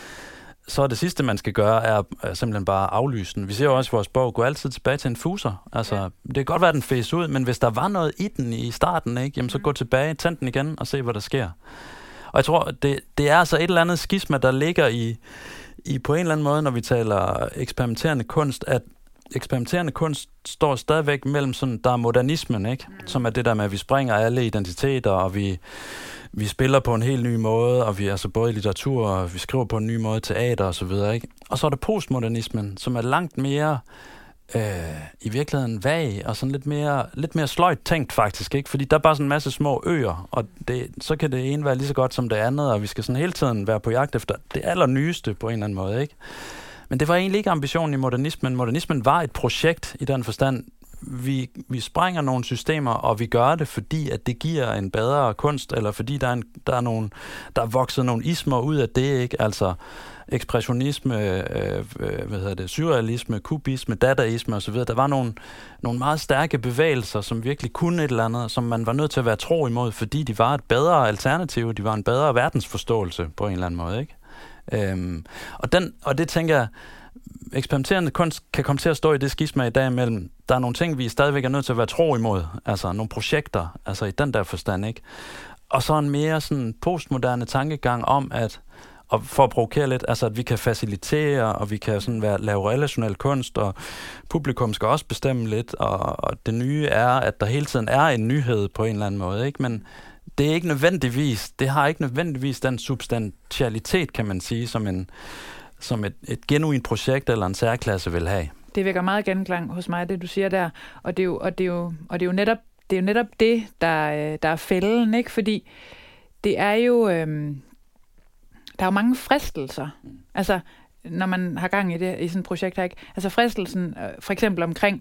så er det sidste, man skal gøre, er, er simpelthen bare aflyse den. Vi ser jo også i vores bog, gå altid tilbage til en fuser. Altså, ja. Det kan godt være, at den fæs ud, men hvis der var noget i den i starten, ikke, jamen, så gå tilbage, tænd den igen og se, hvad der sker. Og jeg tror, det, det er altså et eller andet skisma, der ligger i, i på en eller anden måde, når vi taler eksperimenterende kunst, at eksperimenterende kunst står stadigvæk mellem sådan, der er modernismen, ikke? Mm. Som er det der med, at vi springer alle identiteter, og vi, vi spiller på en helt ny måde, og vi altså både i litteratur, og vi skriver på en ny måde, teater og så videre, ikke? Og så er der postmodernismen, som er langt mere øh, i virkeligheden vag, og sådan lidt mere, lidt mere sløjt tænkt faktisk, ikke? Fordi der er bare sådan en masse små øer, og det, så kan det ene være lige så godt som det andet, og vi skal sådan hele tiden være på jagt efter det allernyeste på en eller anden måde, ikke? Men det var egentlig ikke ambitionen i modernismen. Modernismen var et projekt i den forstand. Vi, vi sprænger nogle systemer, og vi gør det, fordi at det giver en bedre kunst, eller fordi der er, en, der er, nogle, der er vokset nogle ismer ud af det, ikke? Altså ekspressionisme, øh, hvad hedder det, surrealisme, kubisme, dadaisme osv. Der var nogle, nogle meget stærke bevægelser, som virkelig kunne et eller andet, som man var nødt til at være tro imod, fordi de var et bedre alternativ, de var en bedre verdensforståelse på en eller anden måde, ikke? Øhm, og, den, og det tænker jeg, eksperimenterende kunst kan komme til at stå i det skisma i dag mellem, der er nogle ting, vi stadigvæk er nødt til at være tro imod, altså nogle projekter, altså i den der forstand, ikke? Og så en mere sådan postmoderne tankegang om, at, og for at provokere lidt, altså at vi kan facilitere, og vi kan sådan være, lave relationel kunst, og publikum skal også bestemme lidt, og, og det nye er, at der hele tiden er en nyhed på en eller anden måde, ikke? Men det er ikke nødvendigvis, det har ikke nødvendigvis den substantialitet, kan man sige, som, en, som et, et genuint projekt eller en særklasse vil have. Det vækker meget genklang hos mig, det du siger der, og det er jo, og det er jo, og det er jo netop det, er jo netop det der, der er fælden, ikke? Fordi det er jo, øhm, der er jo mange fristelser, altså når man har gang i det i sådan et projekt her, ikke? Altså fristelsen, øh, for eksempel omkring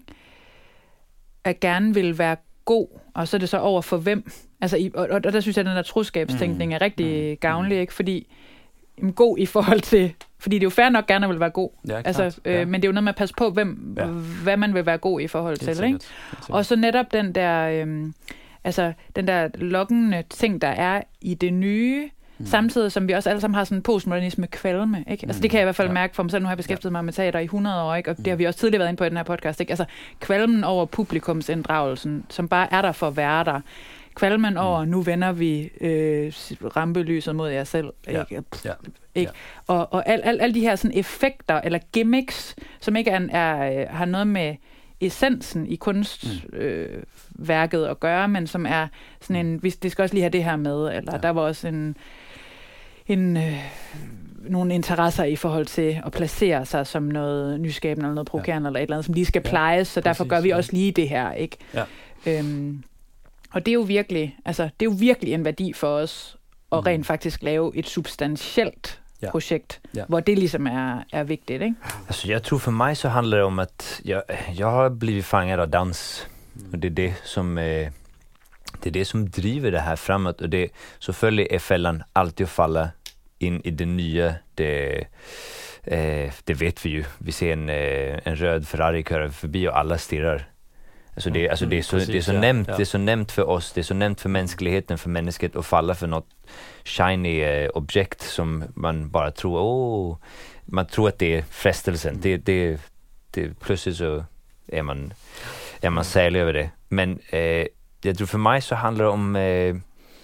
at gerne vil være god, og så er det så over for hvem. Altså, i, og, og der synes jeg, at den der troskabstænkning er rigtig mm. gavnlig, ikke? Fordi jamen, god i forhold til, fordi det er jo fair nok gerne at vil være god, ja, altså, øh, ja. Men det er jo noget med at passe på, hvem, ja. hvad man vil være god i forhold til, ikke? Og så netop den der, øh, altså den der lokkende ting, der er i det nye, mm. samtidig som vi også alle sammen har sådan en postmodernisme kvalme, ikke? Altså det kan jeg i hvert fald ja. mærke for mig selv. Nu har jeg beskæftiget ja. mig med teater i hundrede år, ikke? Og det har vi også tidligere været inde på i den her podcast, ikke? Altså kvalmen over publikumsinddragelsen, som bare er der for at være der, kvalmen over, nu vender vi øh, rampelyset mod jer selv. Ja. Ikke? Ja. Ikke? Og, og alle al, al de her sådan, effekter eller gimmicks, som ikke er, er, har noget med essensen i kunstværket mm. øh, at gøre, men som er sådan en, det skal også lige have det her med, eller ja. Der var også en, en øh, nogle interesser i forhold til at placere sig som noget nyskabende eller noget provokerende ja. Eller et eller andet, som lige skal plejes, så ja, derfor gør vi ja. Også lige det her, ikke? Ja. Øhm, og det er jo virkelig, altså det er jo virkelig en værdi for os at mm. rent faktisk lave et substantielt ja. Projekt, ja. Hvor det ligesom er, er vigtigt, ikke? Alltså jag tror för mig så handlar det om att jag, jag har blivit fångad av dans mm. och det är det som eh, det är det som driver det här framåt och det så följer är fällan alltid att falla in i det nya. Det, eh, det vet vi ju. Vi ser en, eh, en röd Ferrari köra förbi och alla stirrar. Alltså det, alltså det, är så, det är så ja, nämnt, ja. Det är så nämnt för oss, det är så nämnt för mänskligheten, för människet att falla för något shiny eh, objekt som man bara tror, åh, man tror att det är frestelsen. Mm. Det, det, det, plötsligt så är man, är man särlig över det. Men eh, jag tror för mig så handlar det om eh,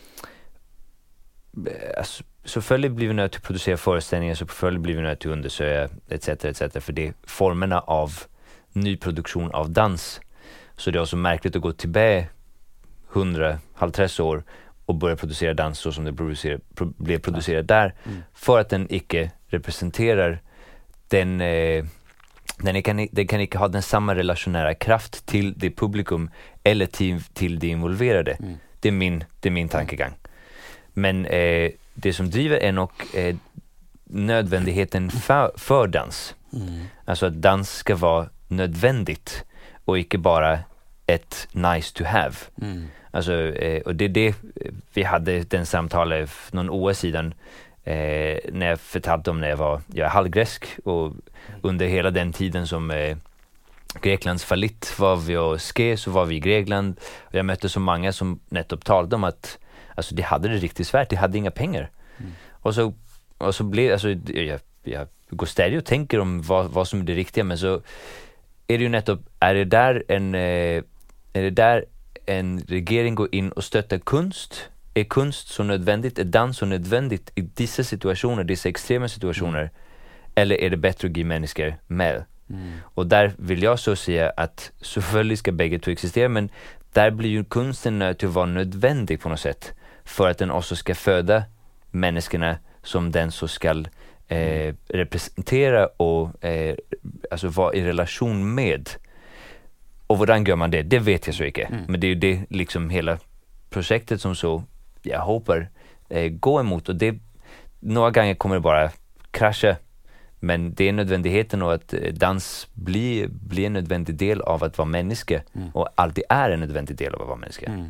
alltså, selvfølgelig blir vi nødt til at producere forestillinger, selvfølgelig blir vi nødt til at undersøge, et cetera, et cetera, for det er formerna av ny produktion av dans. Så det är också märkligt att gå tillbaka hundra halvtreds år och börja producera dans så som det producerar, pro, blev producerat där mm. för att den icke representerar den eh, den kan, den kan inte ha den samma relationära kraft till det publikum eller till, till det involverade. Mm. Det är min det är min tankegång. Men eh, det som driver är nog eh, nödvändigheten för, för dans. Mm. Alltså att dans ska vara nödvändigt och inte bara ett nice to have. Mm. Alltså, eh, och det är det vi hade den samtalet för någon år sedan eh, när jag förtalte om när jag var jag är halvgresk och mm. under hela den tiden som eh, Greklands fallitt var vi och ske så var vi i Grekland och jag mötte så många som nettopp talade om att alltså, de hade det riktigt svärt, de hade inga pengar. Mm. Och så, och så blev alltså, jag, jag går stadigt och tänker om vad, vad som är det riktiga, men så är det ju nettopp, är det där en eh, är det där en regering går in och stöttar kunst? Är kunst så nödvändigt? Är dans så nödvändigt i dessa situationer, dessa extrema situationer? Mm. Eller är det bättre att ge människor med? Mm. Och där vill jag så säga att selvfølgelig ska bägge två existera, men där blir ju kunsten nöjd att vara nödvändig på något sätt för att den också ska föda människorna som den så ska eh, representera och eh, alltså vara i relation med. Och hvordan gör man det? Det vet jag så inte. Mm. Men det är ju det liksom hela projektet som så jag hoppas eh, gå emot. Och det några gånger kommer det bara krascha. Men det är nödvändigheten och att dans blir, blir en nödvändig del av att vara människa. Mm. Och alltid är en nödvändig del av att vara människa. Mm.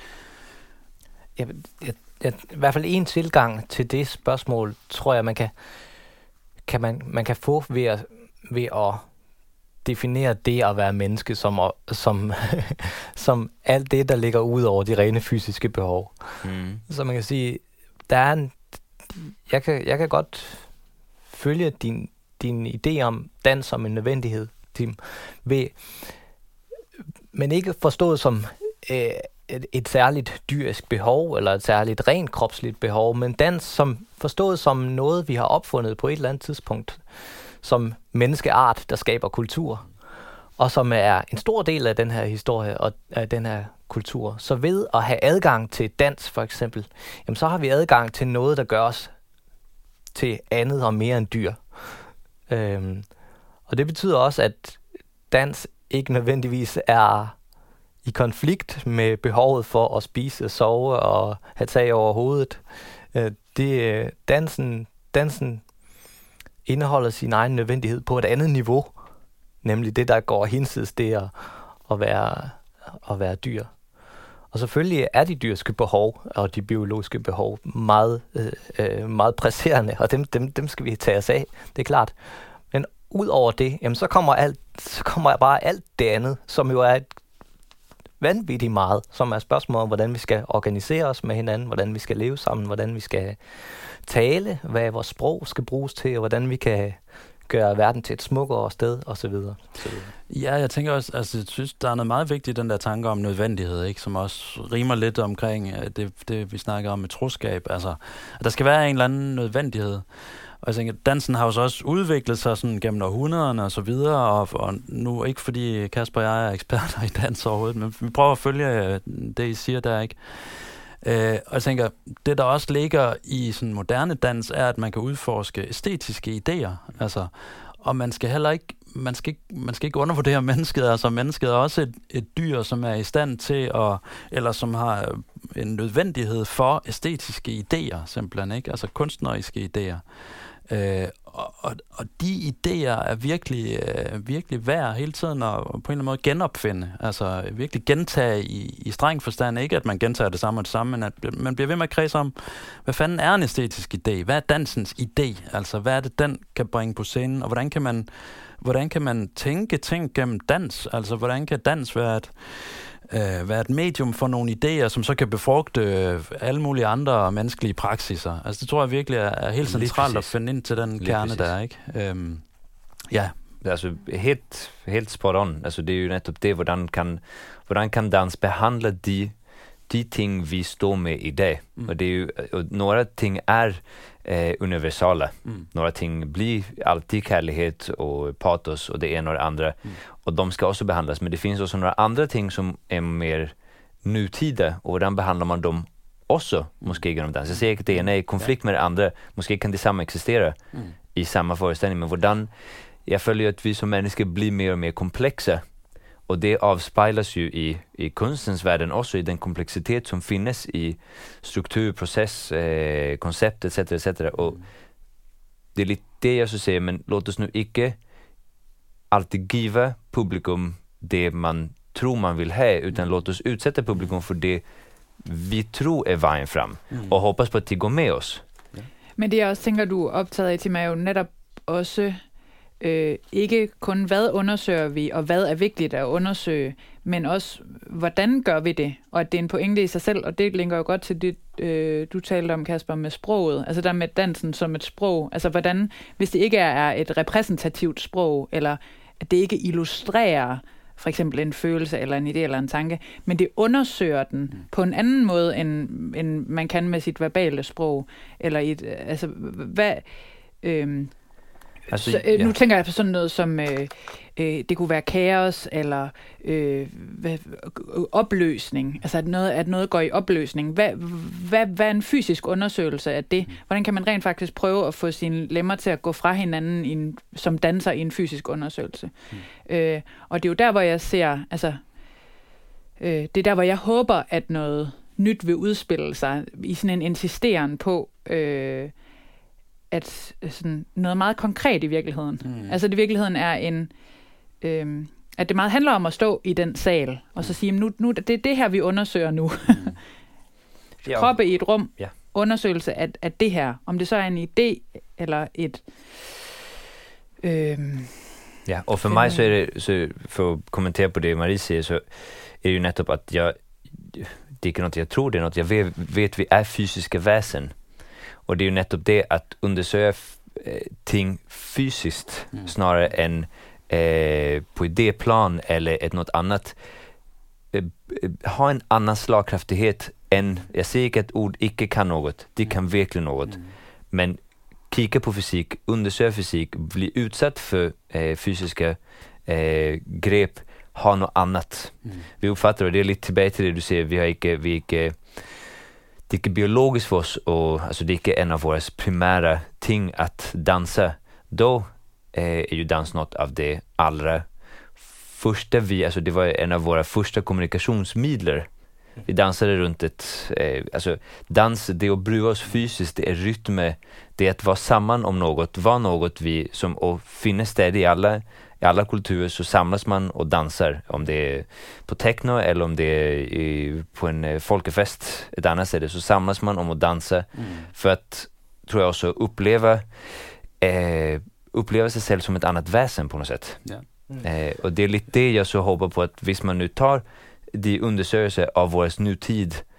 Jeg, jeg, jeg, I hvert fald en tilgang til det spørgsmål, tror jeg, man kan, kan, man, man kan få ved at, ved at definere det at være menneske som, som, som alt det, der ligger ud over de rene fysiske behov. Mm. Så man kan sige, der er en, jeg, kan, jeg kan godt følge din, din idé om dans som en nødvendighed, Tim, ved, men ikke forstået som øh, et, et særligt dyrisk behov, eller et særligt rent kropsligt behov, men dans som forstået som noget, vi har opfundet på et eller andet tidspunkt, som menneskeart, der skaber kultur, og som er en stor del af den her historie og af den her kultur. Så ved at have adgang til dans, for eksempel, jamen, så har vi adgang til noget, der gør os til andet og mere end dyr. Øhm, og det betyder også, at dans ikke nødvendigvis er i konflikt med behovet for at spise, sove og have tag over hovedet. Øh, det, dansen, dansen indeholder sin egen nødvendighed på et andet niveau, nemlig det, der går hinsides det at, at, være, at være dyr. Og selvfølgelig er de dyrske behov og de biologiske behov meget, øh, meget presserende, og dem, dem, dem skal vi tage os af, det er klart. Men ud over det, jamen, så kommer alt, så kommer bare alt det andet, som jo er et vanvittigt meget, som er spørgsmål om, hvordan vi skal organisere os med hinanden, hvordan vi skal leve sammen, hvordan vi skal tale, hvad vores sprog skal bruges til, og hvordan vi kan gøre verden til et smukkere sted, og så videre. Så videre. Ja, jeg tænker også, altså jeg synes, der er noget meget vigtigt i den der tanke om nødvendighed, ikke, som også rimer lidt omkring det, det vi snakker om med troskab. Altså, at der skal være en eller anden nødvendighed. Og jeg tænker, dansen har jo så også udviklet sig sådan gennem århundrederne og så videre, og, og nu ikke fordi Kasper og jeg er eksperter i dans overhovedet, men vi prøver at følge det, I siger der, ikke? Øh, og jeg tænker, det der også ligger i sådan moderne dans, er, at man kan udforske æstetiske idéer, altså, og man skal heller ikke, man skal ikke, man skal ikke undervurdere mennesket, altså mennesket er også et, et dyr, som er i stand til at, eller som har en nødvendighed for æstetiske idéer, simpelthen, ikke? Altså kunstneriske idéer. Øh, og, og, og de idéer er virkelig, øh, virkelig værd hele tiden at på en eller anden måde genopfinde. Altså virkelig gentage i, i streng forstand. Ikke at man gentager det samme og det samme, men at man bliver ved med at kredse om, hvad fanden er en æstetisk idé? Hvad er dansens idé? Altså hvad er det, den kan bringe på scenen? Og hvordan kan man, hvordan kan man tænke ting gennem dans? Altså hvordan kan dans være et Øh, være et medium for nogle idéer, som så kan befrugte øh, alle mulige andre menneskelige praksiser. Altså det tror jeg virkelig er, er helt centralt at finde ind til den Lige kerne præcis. Der, ikke? Øhm, ja. Altså helt, helt spot on. Altså det er jo netop det, hvordan kan, hvordan kan dans behandle de, de ting, vi står med i dag. Mm. Og det er jo, og några ting är eh, universala. Mm. Några ting blir alltid kärlighet och patos och det ena och det andra. Mm. Och de ska också behandlas. Men det finns också några andra ting som är mer nutida. Och hvordan behandlar man dem också, måske genom dans. Jag säger att det ena är i konflikt med det andra. Måske kan det samma existera mm. i samma föreställning. Men hvordan, jag följer att vi som människor blir mer och mer komplexa. Och det avspeglas ju i, i kunstens världen också, i den komplexitet som finnes i struktur, process, eh, koncept et cetera et cetera. Och det är lite det jag så säger, men låt oss nu inte alltid giva publikum det man tror man vill ha, utan låt oss utsätta publikum för det vi tror är vejen fram, mm. og hoppas på at de går med os. Ja. Men det jeg også tænker, du er optaget af, Tim, er jo netop også øh, ikke kun hvad undersøger vi, og hvad er vigtigt at undersøge, men også hvordan gør vi det, og at det er en pointe i sig selv, og det linker jo godt til det, øh, du talte om, Kasper, med sproget, altså der med dansen som et sprog, altså hvordan, hvis det ikke er et repræsentativt sprog, eller at det ikke illustrerer for eksempel en følelse, eller en idé, eller en tanke, men det undersøger den mm. på en anden måde, end, end man kan med sit verbale sprog, eller et, altså, hvad... Øh, Altså, så, øh, ja. Nu tænker jeg på sådan noget som, øh, øh, det kunne være kaos, eller øh, hvad, opløsning, altså at noget, at noget går i opløsning. Hvad, hvad, hvad er en fysisk undersøgelse af det? Hvordan kan man rent faktisk prøve at få sine lemmer til at gå fra hinanden i en, som danser i en fysisk undersøgelse? Mm. Øh, og det er jo der, hvor jeg ser, altså, øh, det er der, hvor jeg håber, at noget nyt vil udspille sig i sådan en insisteren på, øh, at sådan noget meget konkret i virkeligheden. Mm. Altså det i virkeligheden er en, øhm, at det meget handler om at stå i den sal, og så sige, nu, nu det er det her, vi undersøger nu. Mm. Kroppe i et rum, ja. Undersøgelse af, af det her. Om det så er en idé, eller et... Øhm, ja, og for øh, mig så er det, så for at kommentere på det, Marie siger, så er det jo netop, at jeg, det er ikke noget, jeg tror, det er noget, jeg ved, vet vi er fysiske væsen. Och det är ju nettopp det att undersöka eh, ting fysiskt mm. snarare än eh, på idéplan eller ett något annat. Eh, ha en annan slagkraftighet än, jag säger inte att ord icke kan något, det kan verkligen något. Mm. Men kika på fysik, undersöka fysik, bli utsatt för eh, fysiska eh, grep, ha något annat. Mm. Vi uppfattar, och det är lite tillbaka till det du säger, vi har icke, vi icke det är inte biologiskt för oss, och alltså det är inte en av våra primära ting att dansa. Då eh, är ju dans något av det allra första vi, alltså det var en av våra första kommunikationsmedel. Vi dansade runt ett, eh, alltså dans, det är att bruka oss fysiskt, det är rytm, det är att vara samman om något, vara något vi som, och finnes det i alla I alla kulturer så samlas man och dansar, om det är på techno eller om det är i, på en folkefest ett annat ställe, så samlas man om att dansa mm. för att, tror jag också, uppleva eh, uppleva sig själv som ett annat väsen på något sätt. Yeah. Mm. Eh, och det är lite det jag så hoppas på, att hvis man nu tar de undersökelser av vår nutid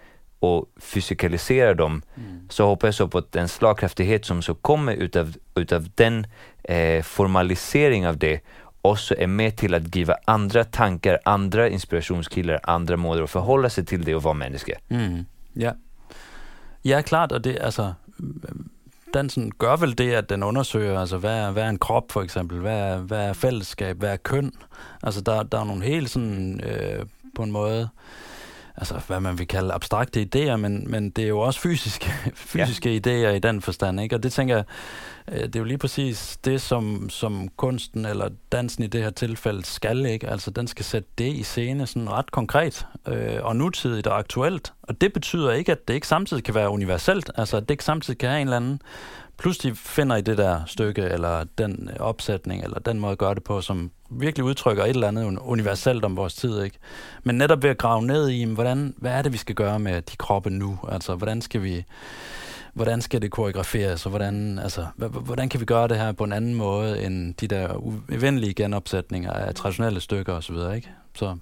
och fysikalisera dem, mm. så hoppas jag på att den slagkraftighet som så kommer utav, utav den eh, formalisering av det också är med till att giva andra tankar, andra inspirationskillar, andra måder att förhålla sig till det och vara människa. Mm. Ja. Ja, klart, og det, altså, dansen gør vel det, at den undersøger, altså, hvad er, hvad er en krop, for eksempel, hvad er, hvad er fællesskab, hvad er køn, altså, der, der er nogle helt sådan, øh, på en måde, altså, hvad man vil kalde abstrakte idéer, men, men det er jo også fysiske, fysiske ja. idéer i den forstand, ikke? Og det tænker jeg, det er jo lige præcis det, som, som kunsten eller dansen i det her tilfælde skal, ikke? Altså, den skal sætte det i scene sådan ret konkret øh, og nutidigt og aktuelt. Og det betyder ikke, at det ikke samtidig kan være universelt. Altså, at det ikke samtidig kan have en eller anden pludselig finder i det der stykke, eller den opsætning, eller den måde at gøre det på, som virkelig udtrykker et eller andet universelt om vores tid, ikke? Men netop ved at grave ned i, hvordan, hvad er det, vi skal gøre med de kroppe nu? Altså, hvordan skal vi... Hvordan skal det koreograferes, og hvordan, altså, hvordan kan vi gøre det her på en anden måde end de der uvenlige genopsætninger af traditionelle stykker osv., ikke? Så.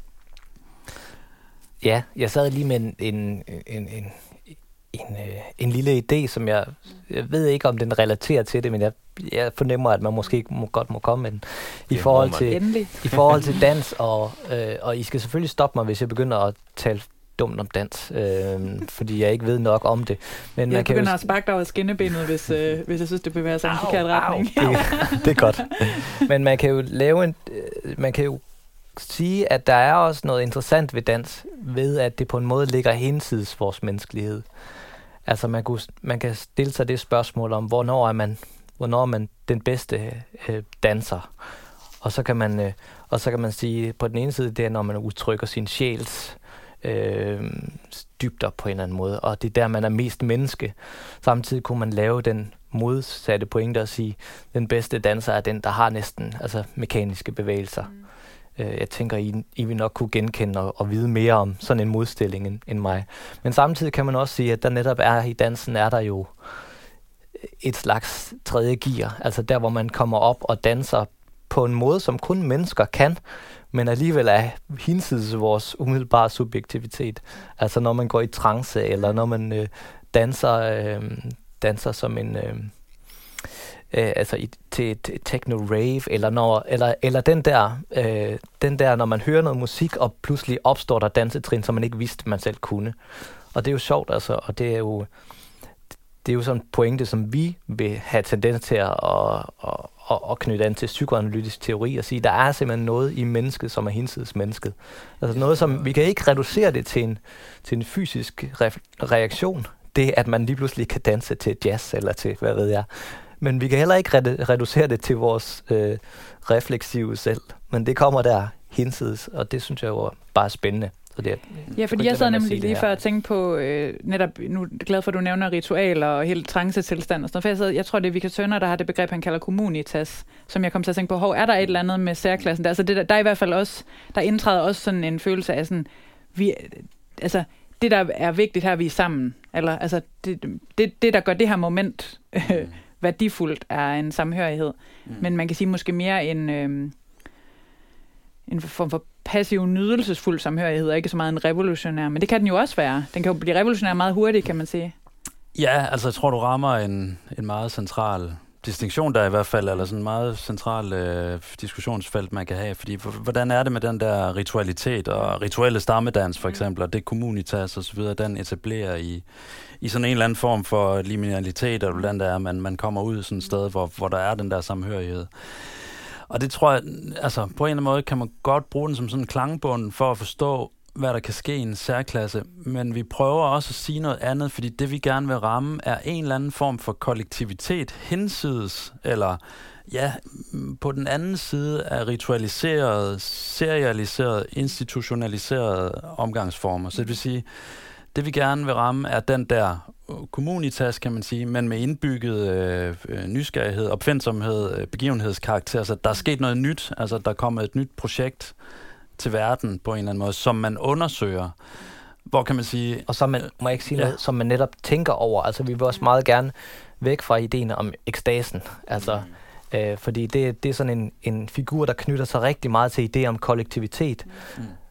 Ja, jeg sad lige med en, en, en, en, en, en lille idé, som jeg, jeg ved ikke, om den relaterer til det, men jeg, jeg fornemmer, at man måske må, godt må komme med den. I forhold til, i forhold til dans, og, øh, og I skal selvfølgelig stoppe mig, hvis jeg begynder at tale dumt om dans, øh, fordi jeg ikke ved nok om det. Men jeg man kan begynder jo... at sparke dig over skinnebenet, hvis, øh, hvis jeg synes, det bevæger sig i en forkert retning. Det, det er godt. Men man kan jo lave en... Øh, man kan jo sige, at der er også noget interessant ved dans, ved at det på en måde ligger hinsides vores menneskelighed. Altså man, kunne, man kan stille sig det spørgsmål om, hvornår er man, hvornår er man den bedste øh, danser? Og så kan man, øh, og så kan man sige, på den ene side, det er, når man udtrykker sin sjæls Øh, dybder på en eller anden måde, og det er der, man er mest menneske. Samtidig kunne man lave den modsatte pointe og sige, den bedste danser er den, der har næsten altså mekaniske bevægelser. Mm. Øh, jeg tænker, I, I vil nok kunne genkende og, og vide mere om sådan en modstilling end, end mig. Men samtidig kan man også sige, at der netop er i dansen, er der jo et slags tredje gear, altså der, hvor man kommer op og danser på en måde, som kun mennesker kan, men alligevel er hinsides vores umiddelbare subjektivitet. Altså når man går i trance, eller når man øh, danser, øh, danser som en... Øh, øh, altså i, til et techno-rave, eller, når, eller, eller den, der, øh, den der, når man hører noget musik, og pludselig opstår der dansetrin, som man ikke vidste, man selv kunne. Og det er jo sjovt, altså, og det er jo... Det er jo sådan en pointe, som vi vil have tendens til at, at, at, at knytte an til psykoanalytisk teori og sige, der er simpelthen noget i mennesket, som er hinsides mennesket. Altså noget, som vi kan ikke reducere det til en, til en fysisk re- reaktion. Det, at man lige pludselig kan danse til jazz eller til, hvad ved jeg. Men vi kan heller ikke re- reducere det til vores øh, refleksive selv. Men det kommer der hinsides, og det synes jeg jo bare er spændende. Det, ja, fordi jeg sad nemlig lige før at tænke på, øh, netop, nu er jeg glad for, at du nævner ritualer og helt trancetilstand og sådan noget, for jeg, sad, jeg tror, det er Victor Tønder, der har det begreb, han kalder communitas, som jeg kom til at tænke på, hov, er der et eller andet med særklassen der? Altså, det, der, der er i hvert fald også, der indtræder også sådan en følelse af sådan, vi, altså, det der er vigtigt her, vi er sammen, eller altså, det, det, det der gør det her moment øh, mm. værdifuldt, er en samhørighed, mm. men man kan sige måske mere en... Øh, en form for passiv, nydelsesfuld samhørighed, og ikke så meget en revolutionær. Men det kan den jo også være. Den kan jo blive revolutionær meget hurtigt, kan man sige. Ja, altså jeg tror, du rammer en, en meget central distinktion der i hvert fald, eller sådan en meget central øh, diskussionsfelt, man kan have. Fordi hvordan er det med den der ritualitet og rituelle stammedans for eksempel, og det communitas og så videre, den etablerer i, i sådan en eller anden form for liminalitet, eller hvordan det er, man, man kommer ud sådan et sted, hvor, hvor der er den der samhørighed. Og det tror jeg, altså på en eller anden måde kan man godt bruge den som sådan en klangbund for at forstå, hvad der kan ske i en særklasse. Men vi prøver også at sige noget andet, fordi det vi gerne vil ramme er en eller anden form for kollektivitet hinsides, eller ja, på den anden side af ritualiserede, serialiserede, institutionaliserede omgangsformer. Så det vil sige, det vi gerne vil ramme er den der communitas, kan man sige, men med indbygget øh, nysgerrighed, opfindsomhed, øh, begivenhedskarakter. Så der er sket noget nyt, altså der er kommet et nyt projekt til verden på en eller anden måde, som man undersøger. Hvor kan man sige... Og som man, må jeg ikke sige ja. noget, som man netop tænker over. Altså vi vil også meget gerne væk fra ideen om ekstasen. Altså, mm. øh, fordi det, det er sådan en, en figur, der knytter sig rigtig meget til idé om kollektivitet. Mm.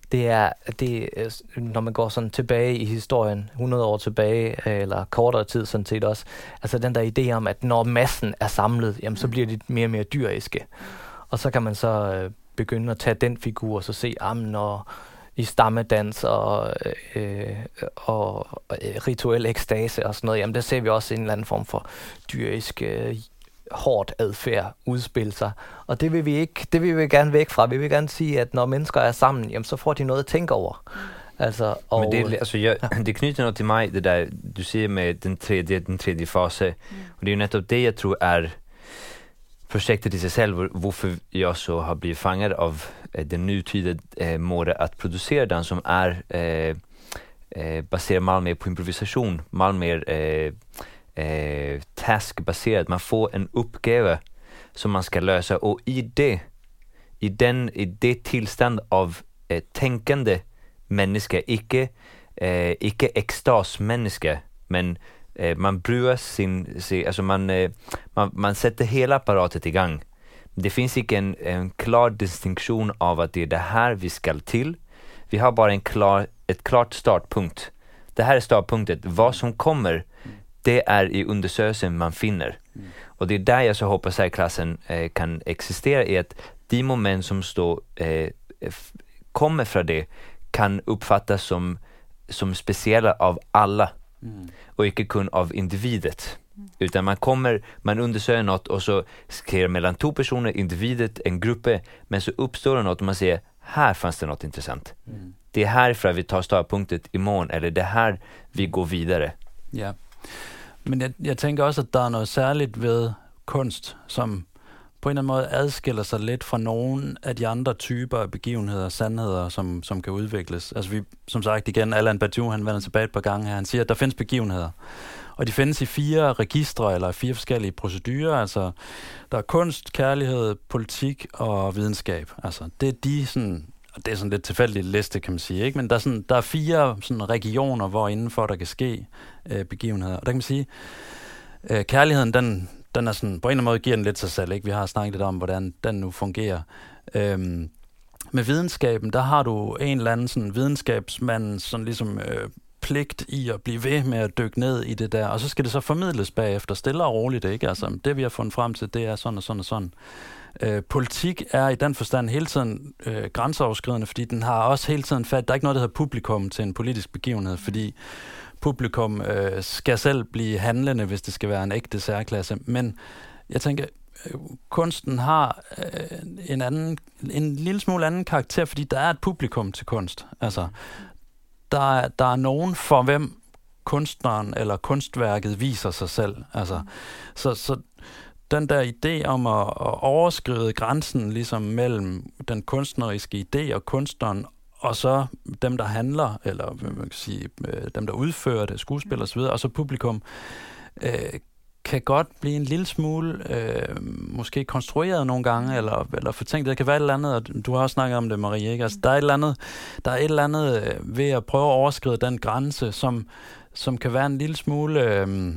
det er, det, når man går sådan tilbage i historien, hundrede år tilbage, eller kortere tid sådan set også, altså den der idé om, at når massen er samlet, jamen så bliver de mere og mere dyriske. Og så kan man så øh, begynde at tage den figur, og så se, ah, når i stammedans og, øh, og øh, rituel ekstase og sådan noget, jamen der ser vi også en eller anden form for dyrisk øh, hårdt adfærd udspille sig. Og det vil vi ikke, det vil vi gerne væk fra. Vi vil gerne sige, at når mennesker er sammen, jamen så får de noget at tænke over. Altså, og men det, altså, jeg, det knyter noget til mig, det der du siger med den tredje, den tredje fase. Mm. Og det er jo netop det, jeg tror er projektet i sig selv, hvor, hvorfor jeg så har blivit fanget av eh, den nutida eh, måde att producera den, som är eh, eh, baserad meget mere på improvisation, meget mere eh, eh, taskbaseret. Man får en uppgave som man ska lösa, och i det i den i det tillstånd av eh, tänkande människa, icke eh, icke extas människa, men eh, man bruger sin, sin alltså man, eh, man man sätter hela apparatet igång. Det finns inte en, en klar distinktion av att det är det här vi ska till. Vi har bara en klar, ett klart startpunkt. Det här är startpunktet. Vad som kommer, det är i undersökelsen man finner. Mm. Och det är där jag så hoppas att klassen eh, kan existera, i att de moment som står, eh, f- kommer från det kan uppfattas som, som speciella av alla. Mm. Och inte kun av individet. Mm. Utan man kommer, man undersöker något och så sker mellan två personer, individet, en grupp, men så uppstår det något och man säger, här fanns det något intressant. Mm. Det är härifrån vi tar startpunktet imorgon, eller det här vi går videre. Ja, men jeg, jeg tænker også, at der er noget særligt ved kunst, som på en eller anden måde adskiller sig lidt fra nogle af de andre typer af begivenheder og sandheder, som, som kan udvikles. Altså vi, som sagt igen, Allan Badiou, han vender tilbage et par gange her, han siger, at der findes begivenheder. Og de findes i fire registre, eller fire forskellige procedurer. Altså, der er kunst, kærlighed, politik og videnskab. Altså, det er de sådan, og det er sådan lidt tilfældigt liste, kan man sige, ikke? Men der er, sådan, der er fire sådan regioner, hvor indenfor der kan ske øh, begivenheder. Og der kan man sige, øh, kærligheden, den, den er sådan, på en eller anden måde giver den lidt sig selv, ikke? Vi har snakket lidt om, hvordan den nu fungerer. Øhm, med videnskaben, der har du en eller anden sådan videnskabsmand, sådan ligesom øh, pligt i at blive ved med at dykke ned i det der, og så skal det så formidles bagefter, stille og roligt, ikke? Altså, det vi har fundet frem til, det er sådan og sådan og sådan. Øh, politik er i den forstand hele tiden øh, grænseoverskridende, fordi den har også hele tiden fat, der er ikke noget, der hedder publikum til en politisk begivenhed, fordi publikum øh, skal selv blive handlende, hvis det skal være en ægte særklasse. Men jeg tænker, øh, kunsten har øh, en anden, en lille smule anden karakter, fordi der er et publikum til kunst. Altså, der er, der er nogen, for hvem kunstneren eller kunstværket viser sig selv. Altså, så, så den der idé om at, at overskride grænsen ligesom mellem den kunstneriske idé og kunstneren, og så dem, der handler, eller hvad man kan sige, dem, der udfører det, skuespiller osv., og så publikum, øh, kan godt blive en lille smule øh, måske konstrueret nogle gange, eller, eller fortænkt. Det kan være et eller andet, og du har også snakket om det, Marie, ikke? Altså, der er et eller andet, der er et eller andet øh, ved at prøve at overskride den grænse, som, som kan være en lille smule øh,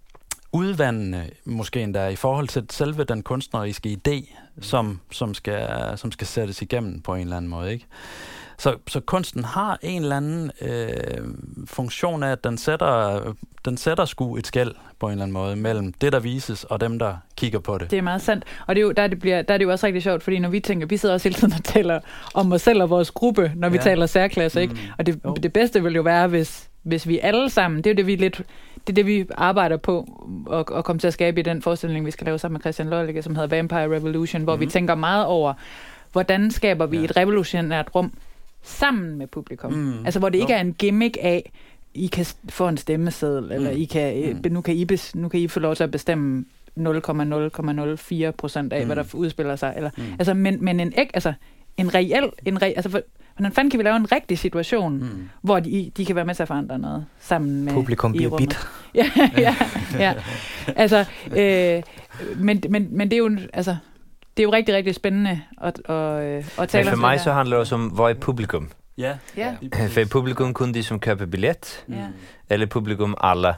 udvandende, måske endda, i forhold til selve den kunstneriske idé, som, som, skal, som skal sættes igennem på en eller anden måde, ikke? Så, så kunsten har en eller anden øh, funktion af, at den sætter, den sætter sgu et skel på en eller anden måde mellem det, der vises, og dem, der kigger på det. Det er meget sandt. Og det er jo, der, det bliver, der er det jo også rigtig sjovt, fordi når vi tænker, vi sidder også hele tiden og taler om os selv og vores gruppe, når vi ja. taler særklasse, ikke? Mm. Og det, oh. det bedste vil jo være, hvis, hvis vi alle sammen, det er jo det, vi lidt, det er det, vi arbejder på at, at komme til at skabe i den forestilling, vi skal lave sammen med Christian Lollicke, som hedder Vampire Revolution, hvor mm. vi tænker meget over, hvordan skaber vi ja. et revolutionært rum sammen med publikum. Mm. Altså, hvor det ikke jo. er en gimmick af, I kan få en stemmeseddel, mm. eller I kan, mm. nu, kan I bes, nu kan I få lov til at bestemme nul komma nul nul fire procent af, mm. hvad der udspiller sig. Eller, mm. altså, men, men en, ikke, altså, en reel, en re, altså, for, hvordan fanden kan vi lave en rigtig situation, mm. hvor de, de kan være med til at forandre noget sammen med publikum bliver bit. ja, ja, ja. Altså, øh, men, men, men det er jo, altså, det er jo rigtig, rigtig spændende at, at, at tale om. For mig der. så handler det også om, hvad er publikum? Ja. ja. For publikum kun de som køber billet, mm. eller publikum alla.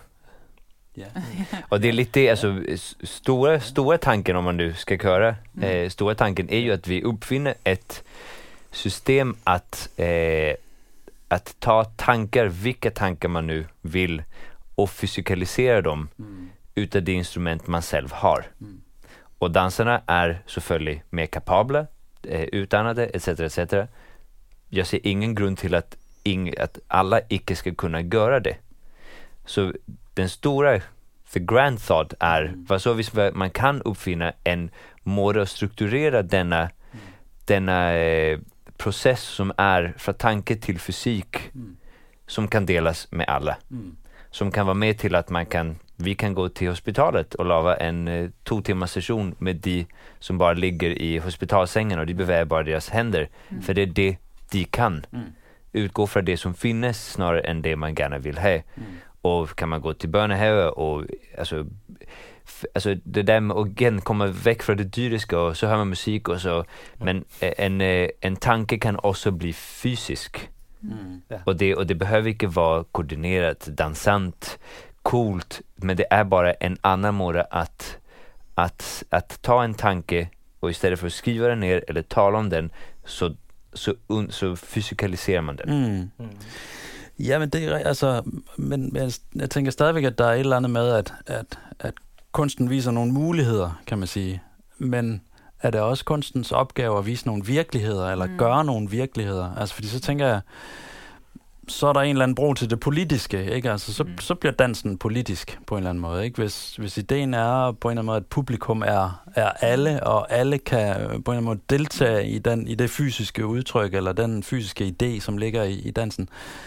Ja. Och det är lite det, alltså stora, stora tanken om man nu ska köra, mm. eh, stora tanken är ju att vi uppfinner ett system att, eh, att ta tankar, vilka tankar man nu vill, och fysikalisera dem mm. utav det instrument man själv har. Mm. Och dansarna är selvfølgelig mer kapabla, eh, utannade, et cetera et cetera. Jag ser ingen grund till att, ing, att alla icke ska kunna göra det. Så den stora, the grand thought är, mm. vad så hvis man kan uppfinna en måde att strukturera denna, mm. denna eh, process som är från tanke till fysik, mm. som kan delas med alla. Mm. Som kan vara med till att man kan, vi kan gå till hospitalet och lava en eh, två timmars session med de som bara ligger i hospitalsängen och de beväger bara deras händer. Mm. För det är det de kan. Mm. Utgå från det som finnes snarare än det man gärna vill ha. Mm. Och kan man gå till børnehave och alltså, f- alltså det där med att igen komma väck från det dyriska och så hör man musik och så. Mm. Men en, en tanke kan också bli fysisk. Mm. Ja. Och, det, och det behöver inte vara koordinerat, dansant, coolt, men det är bara en annan måte att, att, att ta en tanke och istället för att skriva den ner eller tala om den så, så, un, så fysikaliserar man den. Mm. Mm. Ja, men det er altså, men, men jeg tænker stadigvæk, at der er et eller andet med, at, at, at kunsten viser nogle muligheder, kan man sige. Men er det også kunstens opgave at vise nogle virkeligheder, eller mm. gøre nogle virkeligheder? Altså, fordi så tænker jeg, så er der en eller anden bro til det politiske, ikke? Altså, så, mm. så bliver dansen politisk på en eller anden måde, ikke? Hvis, hvis ideen er på en eller anden måde, at publikum er, er alle, og alle kan på en eller anden måde deltage i, den, i det fysiske udtryk, eller den fysiske idé, som ligger i, i dansen,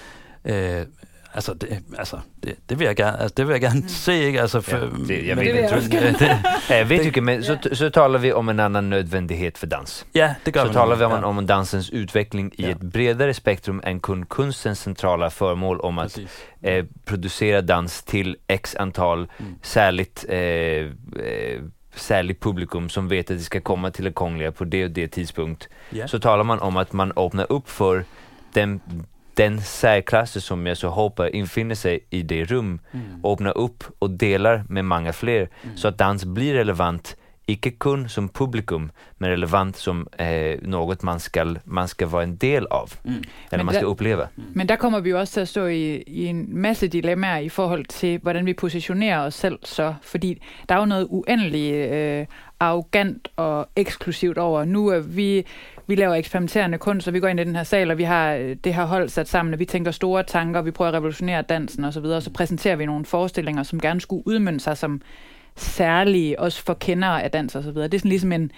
Øh, altså, det, altså det, det vil jeg gerne, altså, det vil jeg gerne mm. se, ikke? Altså, for, ja, det, jeg, men, ved, det, det, det, det, jeg vet ikke, men så, så taler vi om en annan nödvändighet för dans. Ja, det gør så vi. Så taler vi om, ja. om dansens utveckling i ja. ett bredare spektrum än kun kunstens centrala föremål om att eh, producera dans till x antal mm. särligt eh, eh, särligt publikum som vet att det ska komma till det kongliga på det och det tidspunkt. Yeah. Så talar man om att man öppnar upp för den den särklasse som jag så hoppas infinner sig i det rum, mm. öppnar upp och delar med många fler, mm. så att dans blir relevant, inte kun som publikum, men relevant som eh, något man ska, man ska vara en del av, mm. eller men man ska der, uppleva. Men der kommer vi jo også til at stå i, i en masse dilemmaer i forhold til, hvordan vi positionerer os selv så, fordi der er jo noget uendeligt øh, arrogant og eksklusivt over. Nu er vi... Vi laver eksperimenterende kunst, og vi går ind i den her sal, og vi har det her hold sat sammen, og vi tænker store tanker, og vi prøver at revolutionere dansen osv., og så præsenterer vi nogle forestillinger, som gerne skulle udmønte sig som særlige, også for kendere af dans osv. Det er sådan ligesom en,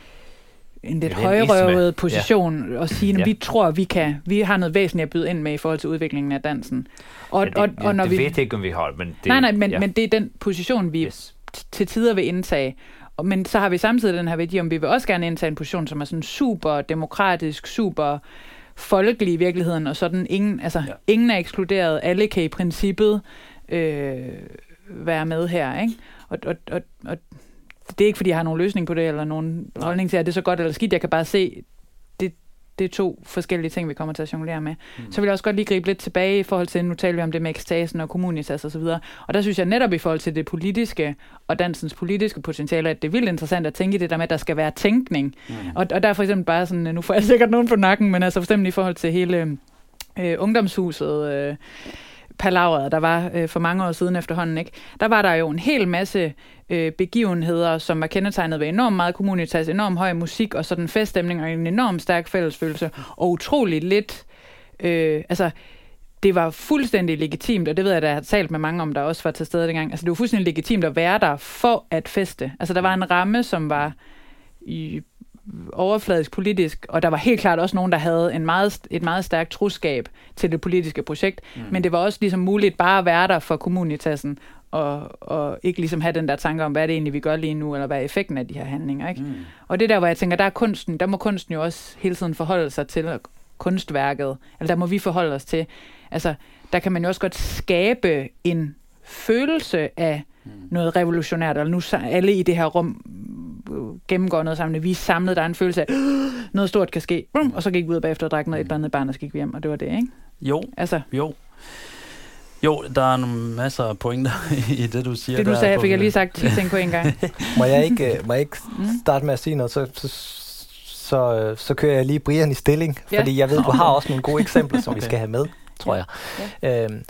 en lidt højrøvet position ja. At sige, at ja. vi tror, vi kan, vi har noget væsentligt at byde ind med i forhold til udviklingen af dansen. Og, ja, det, og, og når det vi, ved ikke, om vi har, men det... Nej, nej, men, ja. men det er den position, vi yes. til tider vil indtage. Men så har vi samtidig den her værdi, om vi vil også gerne indtage en position, som er sådan super demokratisk, super folkelig i virkeligheden, og sådan ingen, altså ja. ingen er ekskluderet, alle kan i princippet øh, være med her, ikke? Og, og, og, og det er ikke, fordi jeg har nogen løsning på det, eller nogen Nej. holdning til, at det er så godt eller skidt. Jeg kan bare se, det, det er to forskellige ting, vi kommer til at jonglere med. Mm. Så vil jeg også godt lige gribe lidt tilbage i forhold til, nu taler vi om det med ekstasen og communitas og så videre. Og der synes jeg netop i forhold til det politiske og dansens politiske potentiale, at det er vildt interessant at tænke i det der med, at der skal være tænkning. Mm. Og, og der er for eksempel bare sådan, nu får jeg sikkert nogen på nakken, men altså for eksempel i forhold til hele øh, ungdomshuset, øh, palaveret, der var øh, for mange år siden efterhånden, ikke? Der var der jo en hel masse øh, begivenheder, som var kendetegnet ved enormt meget communitas, enormt høj musik og sådan feststemning og en enormt stærk fællesfølelse, og utroligt lidt, øh, altså det var fuldstændig legitimt, og det ved jeg, at jeg har talt med mange om, der også var til stede dengang, altså det var fuldstændig legitimt at være der for at feste. Altså der var en ramme, som var i overfladisk politisk, og der var helt klart også nogen, der havde en meget, et meget stærkt troskab til det politiske projekt, mm. men det var også ligesom muligt bare at være der for communitasen, og, og ikke ligesom have den der tanke om, hvad er det egentlig, vi gør lige nu, eller hvad er effekten af de her handlinger, ikke? Mm. Og det der, hvor jeg tænker, der er kunsten, der må kunsten jo også hele tiden forholde sig til kunstværket, eller der må vi forholde os til, altså, der kan man jo også godt skabe en følelse af mm. noget revolutionært, eller nu alle i det her rum gennemgår noget sammen, vi er samlet, der er en følelse af, noget stort kan ske, og så gik vi ud bagefter og drak noget, et eller andet barn, og så gik vi hjem, og det var det, ikke? Jo, altså. jo. Jo, der er nogle masser af pointer i det, du siger. Det, du sagde, fik jeg lige sagt ti ting på en gang. må, jeg ikke, må jeg ikke starte med at sige noget, så, så så, så kører jeg lige Brian i stilling, Ja. fordi jeg ved, du har også nogle gode eksempler, som vi skal have med, tror jeg. Ja. Øhm,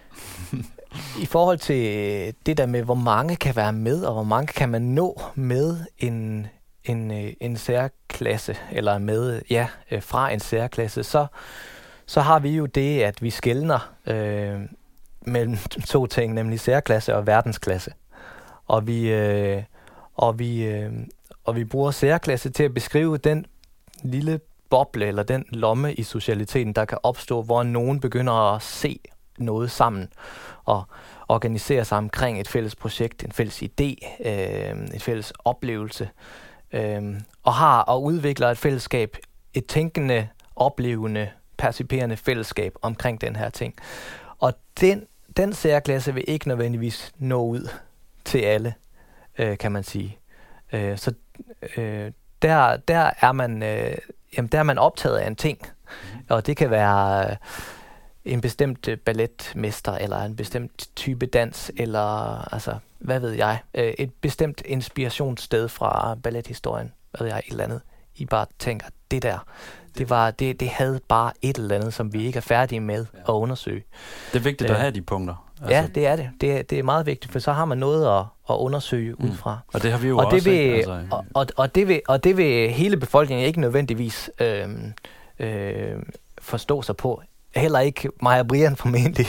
I forhold til det der med, hvor mange kan være med, og hvor mange kan man nå med en, en, en særklasse, eller med, ja, fra en særklasse, så, så har vi jo det, at vi skelner øh, mellem to ting, nemlig særklasse og verdensklasse. Og vi, øh, og vi, øh, og vi bruger særklasse til at beskrive den lille boble, eller den lomme i socialiteten, der kan opstå, hvor nogen begynder at se noget sammen, og organisere sig omkring et fælles projekt, en fælles idé, øh, et fælles oplevelse, øh, og har og udvikler et fællesskab, et tænkende, oplevende, perciperende fællesskab omkring den her ting. Og den, den særklasse vil ikke nødvendigvis nå ud til alle, øh, kan man sige. Øh, så øh, der, der, er man, øh, jamen, der er man optaget af en ting, mm. og det kan være øh, en bestemt balletmester, eller en bestemt type dans, eller altså, hvad ved jeg, øh, et bestemt inspirationssted fra ballethistorien, hvad ved jeg, et eller andet. I bare tænker, det der, det, var, det, det havde bare et eller andet, som vi ikke er færdige med ja. at undersøge. Det er vigtigt øh, at have de punkter. Altså. Ja, det er det. det er, det er meget vigtigt, for så har man noget at, at undersøge mm. ud fra. Og det har vi jo og også. Det vil, altså. og, og, og, det vil, og det vil hele befolkningen ikke nødvendigvis øh, øh, forstå sig på. Heller ikke mig og Brian formentlig.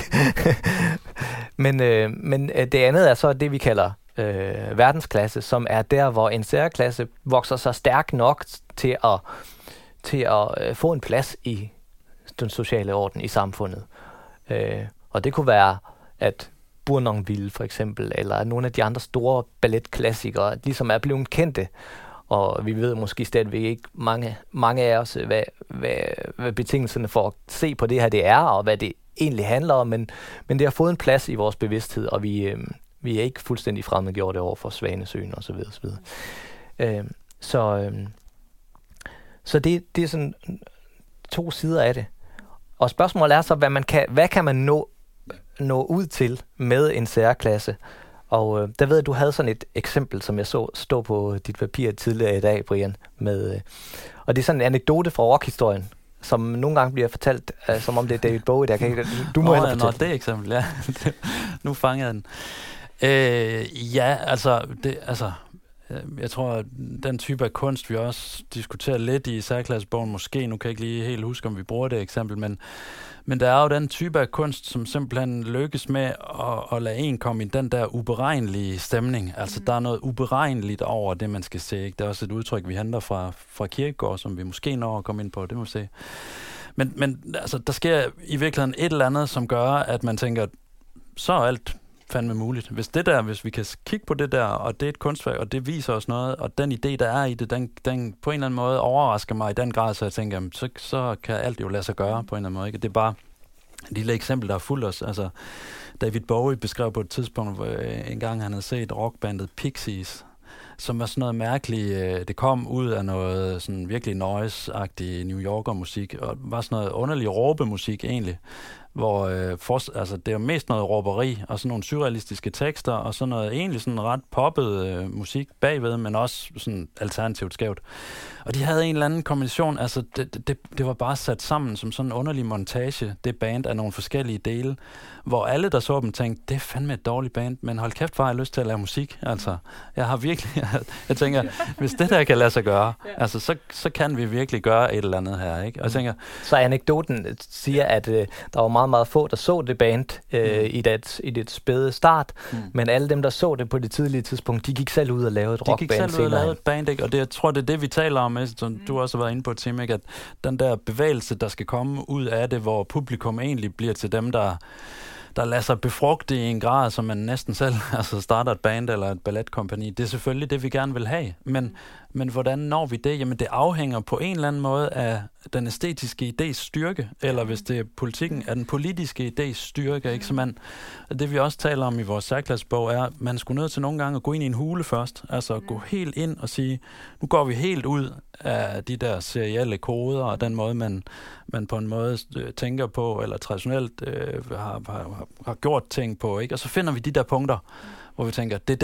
men, øh, men det andet er så det, vi kalder øh, verdensklasse, som er der, hvor en særklasse vokser sig stærk nok til at, til at øh, få en plads i den sociale orden i samfundet. Øh, og det kunne være, at Bournonville for eksempel, eller nogle af de andre store balletklassikere, ligesom er blevet kendte. Og vi ved måske stadigvæk ikke mange, mange af os, hvad, hvad, hvad betingelserne for at se på det her det er, og hvad det egentlig handler om, men, men det har fået en plads i vores bevidsthed, og vi, øh, vi er ikke fuldstændig fremmedgjorte over for Svanesøen og så videre, så videre. Øh, så øh, så det, det er sådan to sider af det. Og spørgsmålet er så, hvad, man kan, hvad kan man nå, nå ud til med en særklasse? Og øh, der ved jeg, du havde sådan et eksempel, som jeg så stå på dit papir tidligere i dag, Brian. Med, øh, og det er sådan en anekdote fra rockhistorien, som nogle gange bliver fortalt, øh, som om det er David Bowie. Der kan ikke, du må oh, hellere ja, fortælle. Nå, det eksempel, ja. Nu fanger jeg den. Øh, ja, altså, det, altså, jeg tror, at den type af kunst, vi også diskuterer lidt i særklassebogen, måske, nu kan jeg ikke lige helt huske, om vi bruger det eksempel, men Men der er jo den type af kunst, som simpelthen lykkes med at, at lade en komme i den der uberegnelige stemning. Altså, mm. der er noget uberegneligt over det, man skal se. Ikke? Det er også et udtryk, vi henter fra, fra Kierkegaard, som vi måske når at komme ind på. Det må vi se. Men, men altså, der sker i virkeligheden et eller andet, som gør, at man tænker, så er alt fandme muligt. Hvis det der, hvis vi kan kigge på det der, og det er et kunstværk, og det viser os noget, og den idé, der er i det, den, den på en eller anden måde overrasker mig i den grad, så jeg tænker, jamen, så, så kan alt jo lade sig gøre på en eller anden måde. Ikke? Det er bare et lille eksempel, der er fuldt os. Altså, David Bowie beskrev på et tidspunkt, hvor en gang han havde set rockbandet Pixies, som var sådan noget mærkeligt. Det kom ud af noget sådan virkelig noise-agtig New Yorker-musik, og var sådan noget underlig råbemusik egentlig, hvor øh, for, altså, det er mest noget råberi, og sådan nogle surrealistiske tekster, og sådan noget egentlig sådan ret poppet øh, musik bagved, men også sådan alternativt skævt. Og de havde en eller anden kombination, altså det, det, det var bare sat sammen som sådan en underlig montage, det band af nogle forskellige dele, hvor alle, der så dem, tænkte, det er fandme et dårligt band, men hold kæft, hvor har jeg lyst til at lave musik, altså. Jeg har virkelig, jeg tænker, hvis det der kan lade sig gøre, altså, så, så kan vi virkelig gøre et eller andet her, ikke? Og jeg tænker, så anekdoten siger, at øh, der var meget, meget få, der så det band øh, mm. i, det, i det spæde start, mm. men alle dem, der så det på det tidlige tidspunkt, de gik selv ud og lavede et rockband senere. De gik selv ud og lavede et band, ikke? Og det, jeg tror, det er det, vi taler om, som mm. du også har været inde på, Tim, ikke? At den der bevægelse, der skal komme ud af det, hvor publikum egentlig bliver til dem, der der lader sig befrugte i en grad, som man næsten selv altså starter et band eller et balletkompagni. Det er selvfølgelig det, vi gerne vil have. Men, men hvordan når vi det? Jamen, det afhænger på en eller anden måde af den æstetiske idés styrke, eller hvis det er politikken, af den politiske idés styrke. Ikke? Så man, det vi også taler om i vores særklassebog er, at man skulle nødt til nogle gange at gå ind i en hule først. Altså gå helt ind og sige, nu går vi helt ud af de der serielle koder, og den måde, man, man på en måde øh, tænker på, eller traditionelt øh, har, har, har gjort ting på. Ikke? Og så finder vi de der punkter, hvor vi tænker, det er det der,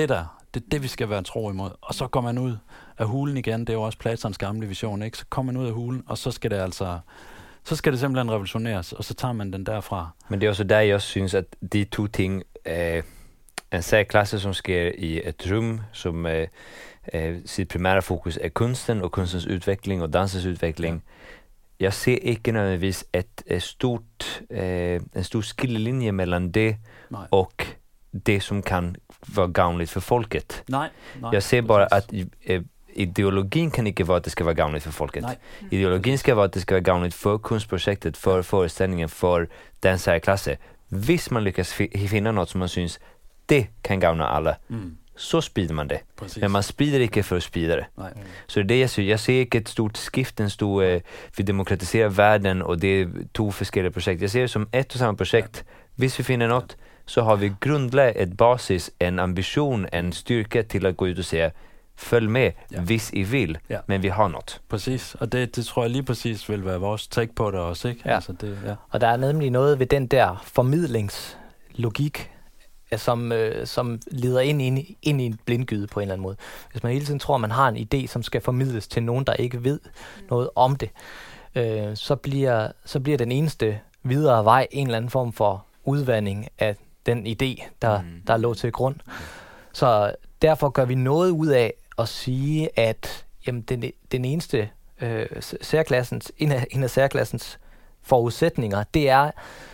Det er det, vi skal være tro imod. Og så går man ud af hulen igen. Det er jo også Platons gamle vision, ikke? Så kommer man ud af hulen, og så skal det altså... Så skal det simpelthen revolutioneres, og så tager man den derfra. Men det er også der, jeg også synes, at de to ting... Øh, en særklasse, som sker i et rum, som øh, øh, sit primære fokus er kunsten og kunstens udvikling og dansens udvikling. Jeg ser ikke nødvendigvis et, et stort, øh, en stor skillelinje mellem det nej. Og det, som kan være gavnligt for folket. Nej, nej, jeg ser bare, præcis. At øh, ideologien kan ikke være, at det skal være gavnligt for folket. Nej. Ideologien skal være, at det skal være gavnligt for kunstprojektet, for forestillingen, for den særklasse. Hvis man lyckas f- finna något som man syns det kan gavna alla, mm. så sprider man det. Precis. Men man sprider inte för att sprida det. Nej. Så det är det jag ser. Jag ser inte ett stort skift, en stor, eh, vi demokratiserar världen och det är två olika projekt. Jag ser det som ett och samma projekt. Ja. Hvis vi finner något, så har vi grundlagt ett basis, en ambition, en styrka till att gå ut och säga följ med, ja. Hvis I vil, ja. Men vi har något. Præcis, og det, det tror jeg lige præcis vil være vores take på det også, ikke? Ja. Altså det, ja. Og der er nemlig noget ved den der formidlingslogik, som, øh, som leder ind, ind, ind i en blindgyde på en eller anden måde. Hvis man hele tiden tror, man har en idé, som skal formidles til nogen, der ikke ved noget om det, øh, så, bliver, så bliver den eneste videre vej en eller anden form for udvanding af den idé, der, mm. der lå til grund. Så derfor gør vi noget ud af at sige, at jamen, den, den eneste øh, særklassens, en af, en af særklassens forudsætninger, det er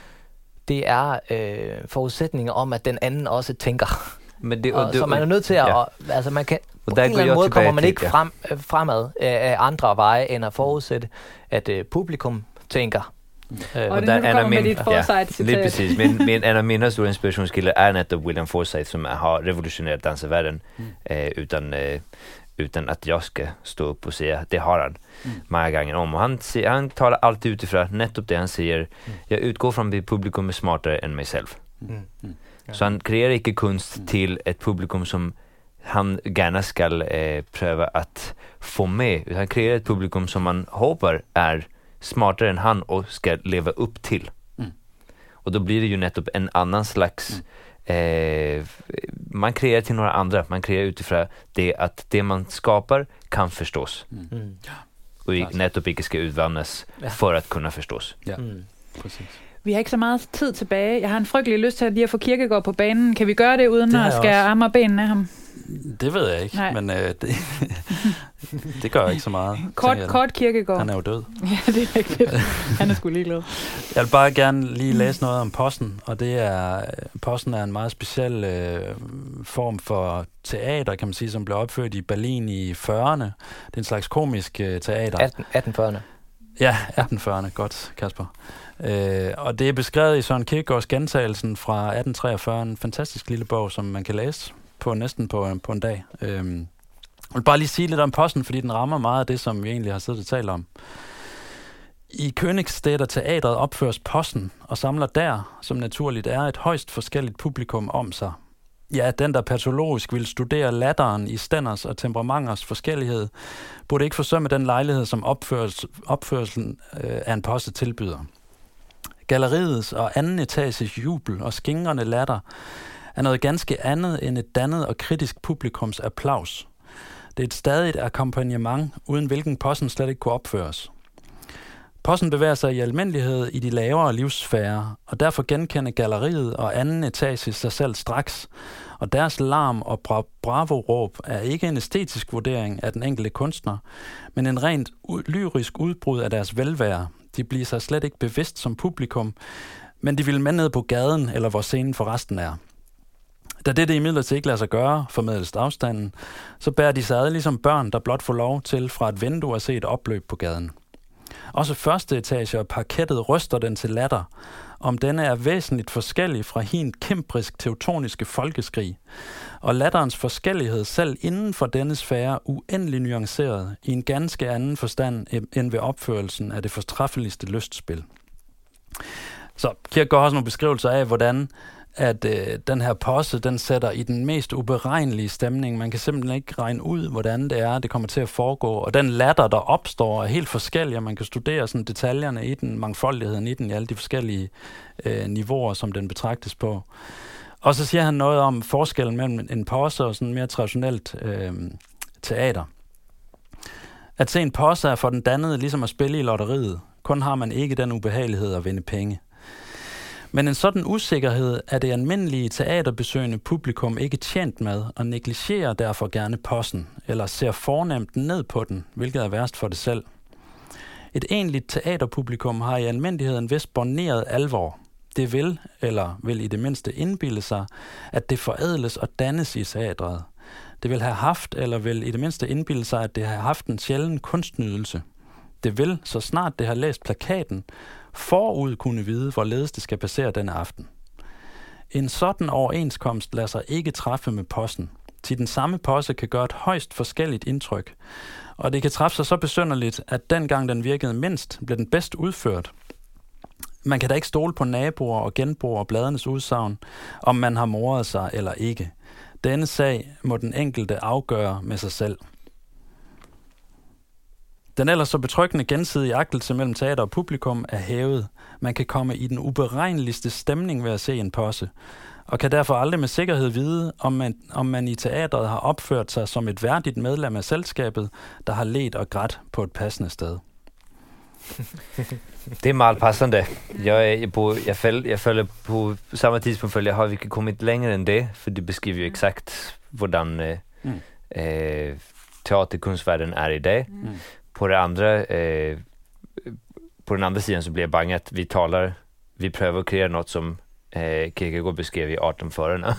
det er øh, forudsætninger om, at den anden også tænker. Men det, og, og det, så man er nødt til at, ja. og, altså man kan, på en eller anden måde kommer man ikke ja. frem, øh, fremad af andre veje, end at forudsætte, at øh, publikum tænker. Mm. Øh, og det er nu, du kommer med dit Forsyth-citat. Ja, lige præcis. Men, men en af mine store inspirationskilder er netop William Forsyth, som har revolutioneret dansevärlden, mm. øh, utan... Øh, utan att jag ska stå upp och säga det har han mm. många gånger om. Och han, han talar alltid utifrån nettopp det han säger. Mm. Jag utgår från att publikum är smartare än mig själv. Mm. Mm. Ja. Så han kreerar inte kunst mm. till ett publikum som han gärna ska eh, pröva att få med. Han kreerar ett publikum som man hoppas är smartare än han och ska leva upp till. Mm. Och då blir det ju nettopp en annan slags... Mm. Eh, man kreerar till några andra. Man kreerar utifrån det att det man skapar kan förstås. Mm. Mm. Och i, nettopp ikke skal udvandes ja. For at kunne forstås. Ja, mm. præcis. Vi har ikke så meget tid tilbage. Jeg har en frygtelig lyst til at lige at få Kierkegaard på banen. Kan vi gøre det uden det at skære arme og benene af ham? Det ved jeg ikke, Nej. men øh, det, det gør ikke så meget. Kort, kort Kierkegaard. Han er jo død. Ja, det er rigtigt. Han er sgu ligeglad. Jeg vil bare gerne lige læse noget om Possen, og det er, Possen er en meget speciel øh, form for teater, kan man sige, som blev opført i Berlin i fyrrerne. Det er en slags komisk øh, teater. atten fyrrerne. Ja, atten fyrrerne. Godt, Kasper. Øh, og det er beskrevet i Søren Kierkegaards Gentagelsen fra atten treogfyrre, en fantastisk lille bog, som man kan læse på næsten på, på en dag. Øhm, jeg vil bare lige sige lidt om Possen, fordi den rammer meget af det, som vi egentlig har siddet og talt om. I Königsstädter Teatret opføres Possen og samler der, som naturligt er, et højst forskelligt publikum om sig. Ja, den der patologisk vil studere latteren i stænders og temperamenters forskellighed, burde ikke forsømme den lejlighed, som opførsel, opførelsen øh, af en posse tilbyder. Galleriets og anden etages jubel og skingrende latter er noget ganske andet end et dannet og kritisk publikums applaus. Det er et stadigt akkompagnement, uden hvilken Possen slet ikke kunne opføres. Possen bevæger sig i almindelighed i de lavere livssfærer, og derfor genkender galleriet og anden etage sig selv straks, og deres larm og bra- bravo-råb er ikke en æstetisk vurdering af den enkelte kunstner, men en rent u- lyrisk udbrud af deres velvære. De bliver sig slet ikke bevidst som publikum, men de vil med ned på gaden, eller hvor scenen forresten er. Da det det imidlertid ikke lader sig gøre, formidles afstanden, så bærer de sig ad ligesom børn, der blot får lov til fra et vindue at se et opløb på gaden. Også første etage og parkettet ryster den til latter, om denne er væsentligt forskellig fra hin kæmprisk teutoniske folkeskrig, og latterens forskellighed selv inden for denne sfære uendelig nuanceret i en ganske anden forstand end ved opførelsen af det fortræffeligste lystspil. Så Kierkegaard har også nogle beskrivelser af, hvordan at øh, den her posse, den sætter i den mest uberegnelige stemning. Man kan simpelthen ikke regne ud, hvordan det er, det kommer til at foregå. Og den latter, der opstår, er helt forskellig, og man kan studere sådan detaljerne i den, mangfoldigheden i den, i alle de forskellige øh, niveauer, som den betragtes på. Og så siger han noget om forskellen mellem en posse og sådan mere traditionelt øh, teater. At se en posse er for den dannede ligesom at spille i lotteriet. Kun har man ikke den ubehagelighed at vinde penge. Men en sådan usikkerhed er det almindelige teaterbesøgende publikum ikke tjent med og negligerer derfor gerne possen, eller ser fornemt ned på den, hvilket er værst for det selv. Et egentligt teaterpublikum har i almindelighed en vis borneret alvor. Det vil, eller vil i det mindste indbilde sig, at det forædles og dannes i teatret. Det vil have haft, eller vil i det mindste indbilde sig, at det har haft en sjælden kunstnydelse. Det vil, så snart det har læst plakaten, forud kunne vide, hvorledes det skal passere denne aften. En sådan overenskomst lader sig ikke træffe med possen, til den samme posse kan gøre et højst forskelligt indtryk, og det kan træffe sig så besynderligt, at dengang den virkede mindst, blev den bedst udført. Man kan da ikke stole på naboer og genboer og bladenes udsagn, om man har moret sig eller ikke. Denne sag må den enkelte afgøre med sig selv. Den ellers så betryggende gensidige agtelse mellem teater og publikum er hævet. Man kan komme i den uberegneligste stemning ved at se en posse, og kan derfor aldrig med sikkerhed vide, om man, om man i teatret har opført sig som et værdigt medlem af selskabet, der har let og grædt på et passende sted. Det är malpassande. Jag, är på, jag, fäll, jag följer på samma tidspunkt följer har vi inte kommit längre än det, för det beskriver ju exakt hvordan eh, mm. eh, teaterkunstvärlden är i det. Mm. På det andra eh, på den andra sidan så blir jag bange att vi talar, vi prövar att kreera något som eh, Kierkegaard beskrev i artonhundra-förarna.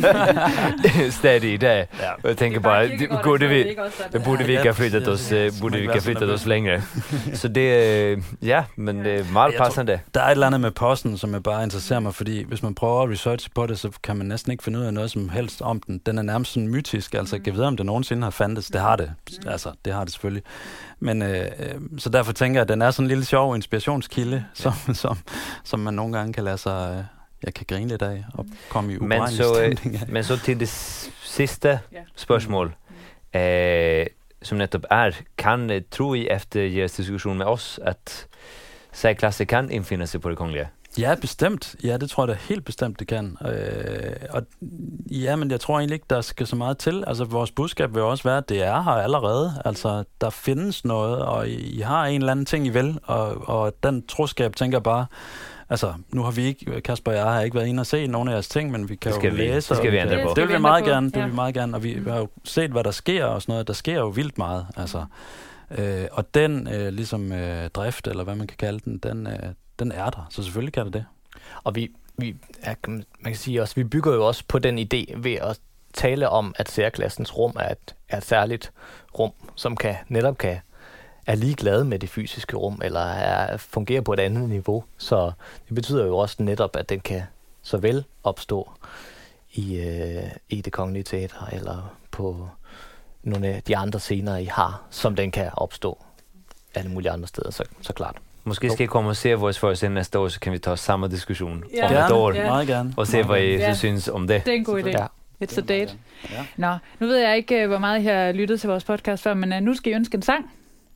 Stadig i det. Ja. Och jag tänker bara, det, borde vi, det borde vi inte ha flyttat oss, borde vi inte ha flyttat oss längre. Så det, ja, men det er meget passende. Der er et eller andet med posten, som jeg bare interesserer mig, fordi hvis man prøver at researche på det, så kan man næsten ikke finde ud af noget som helst om den. Den er nærmest sådan mytisk, altså jeg kan vide, om det nogensinde har fandtes. Det har det, altså det har det selvfølgelig. Men øh, så derfor tænker jeg, at den er sådan en lille sjov inspirationskilde, som, som, som man nogle gange kan lade sig... Øh, jeg kan grine lidt af og komme i uberegnelig stemning af. Men så til det sidste spørgsmål, mm. eh, som netop er, kan tro I efter jeres diskussion med os, at særklasse kan indfinde sig på det kongelige? Ja, bestemt. Ja, det tror jeg da helt bestemt, det kan. Øh, og ja, men jeg tror egentlig ikke, der skal så meget til. Altså, vores budskab vil også være, at det er her allerede. Altså, der findes noget, og I, I har en eller anden ting, I vil, og, og den troskab tænker bare, altså, nu har vi ikke, Kasper og jeg har ikke været inde og se nogle af jeres ting, men vi kan jo vi, læse. Det skal vi ændre på. Det vil vi meget gerne, det vil vi meget gerne, og vi, vi har jo set, hvad der sker og sådan noget. Der sker jo vildt meget, altså. Øh, og den, øh, ligesom øh, drift, eller hvad man kan kalde den, den, øh, den er der, så selvfølgelig kan det det. Og vi, vi ja, man kan sige også, vi bygger jo også på den idé ved at tale om, at særklassens rum er et, er et særligt rum, som kan netop kan er ligeglad med det fysiske rum, eller er, fungerer på et andet niveau. Så det betyder jo også netop, at den kan så vel opstå i, øh, i det kongelige teater, eller på nogle af de andre scener, I har, som den kan opstå alle mulige andre steder, så, så klart. Måske skal I komme og se vores forestilling næste år, så kan vi tage samme diskussion ja. om et år, ja. Meget gerne. og se, hvad I ja. så synes om det. Det er en god idé. Ja. It's a date. Ja. Nå, nu ved jeg ikke, hvor meget I har lyttet til vores podcast før, men uh, nu skal I ønske en sang.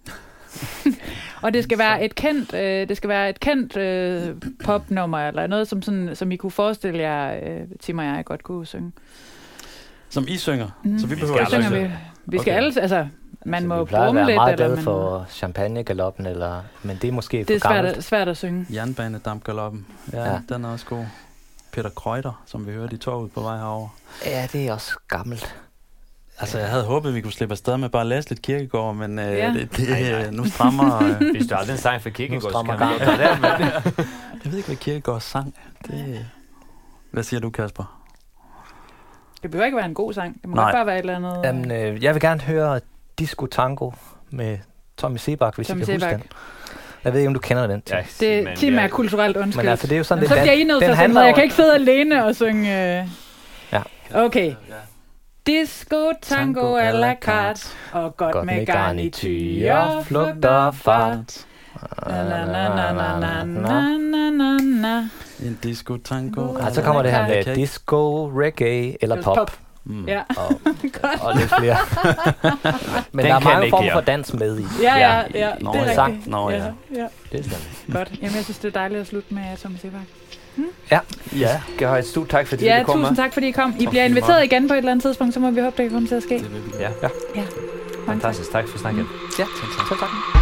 Og det skal være et kendt, øh, det skal være et kendt øh, popnummer eller noget som sådan, som I kunne forestille jer, øh, Tim og jeg godt kunne synge. Som I synger, mm. så vi behøver ikke synge. Vi, vi skal okay. alle, altså man altså, må brumme lidt. Vi plejer at være meget eller glade for champagnegaloppen, eller, men det er måske det er for svært gammelt. At, svært at synge. Jernbanedampgaloppen, ja, ja, den er også god. Peter Kreuter, som vi hørte i toget på vej herover. Ja, det er også gammelt. Altså, jeg havde håbet, at vi kunne slippe afsted med bare at læse lidt Kierkegaard, men øh, ja. det, det, nej, nej. nu strammer... Øh, Hvis du aldrig en sang for Kierkegaard, så kan man godt tage det. Men... jeg ved ikke, hvad Kierkegaard sang. Det... Hvad siger du, Kasper? Det behøver ikke være en god sang. Det må nej. godt bare være et eller andet... Jamen, øh, jeg vil gerne høre Disco Tango med Tommy Sebak, hvis Tommy I kan Sebak. huske den. Jeg ved ikke, om du kender den. Ja, det er Tim er kulturelt undskyld. Men altså, det er jo sådan, så bliver I nødt til at sende Jeg kan ikke sidde alene og synge... Øh... Ja. Okay. Disco, tango, a la carte, og godt, godt med garnityr, flugt og fart. Na na na na na na na na na. En disco, tango. Og så kommer det her med disco, reggae eller pop. pop. Mm. Ja, og, godt. og lidt flere. Men Den der er kan mange ikke former jeg. for dans med i. Ja, ja, ja, Nå, det er ja. rigtigt. Nå, ja. ja. Det er sådan. Godt. Jamen, jeg synes, det er dejligt at slutte med Thomas Sebak. Ja, I skal have et stort tak, fordi Ja, du kom tusind med. tak, fordi I kom. I Tak, bliver fordi I inviteret måtte. igen på et eller andet tidspunkt, så må vi håbe, det kan komme til at ske. Det vil vi Ja, gerne. Ja, mange tak. fantastisk. Tak for snakken. Ja, Selv tak. selv tak.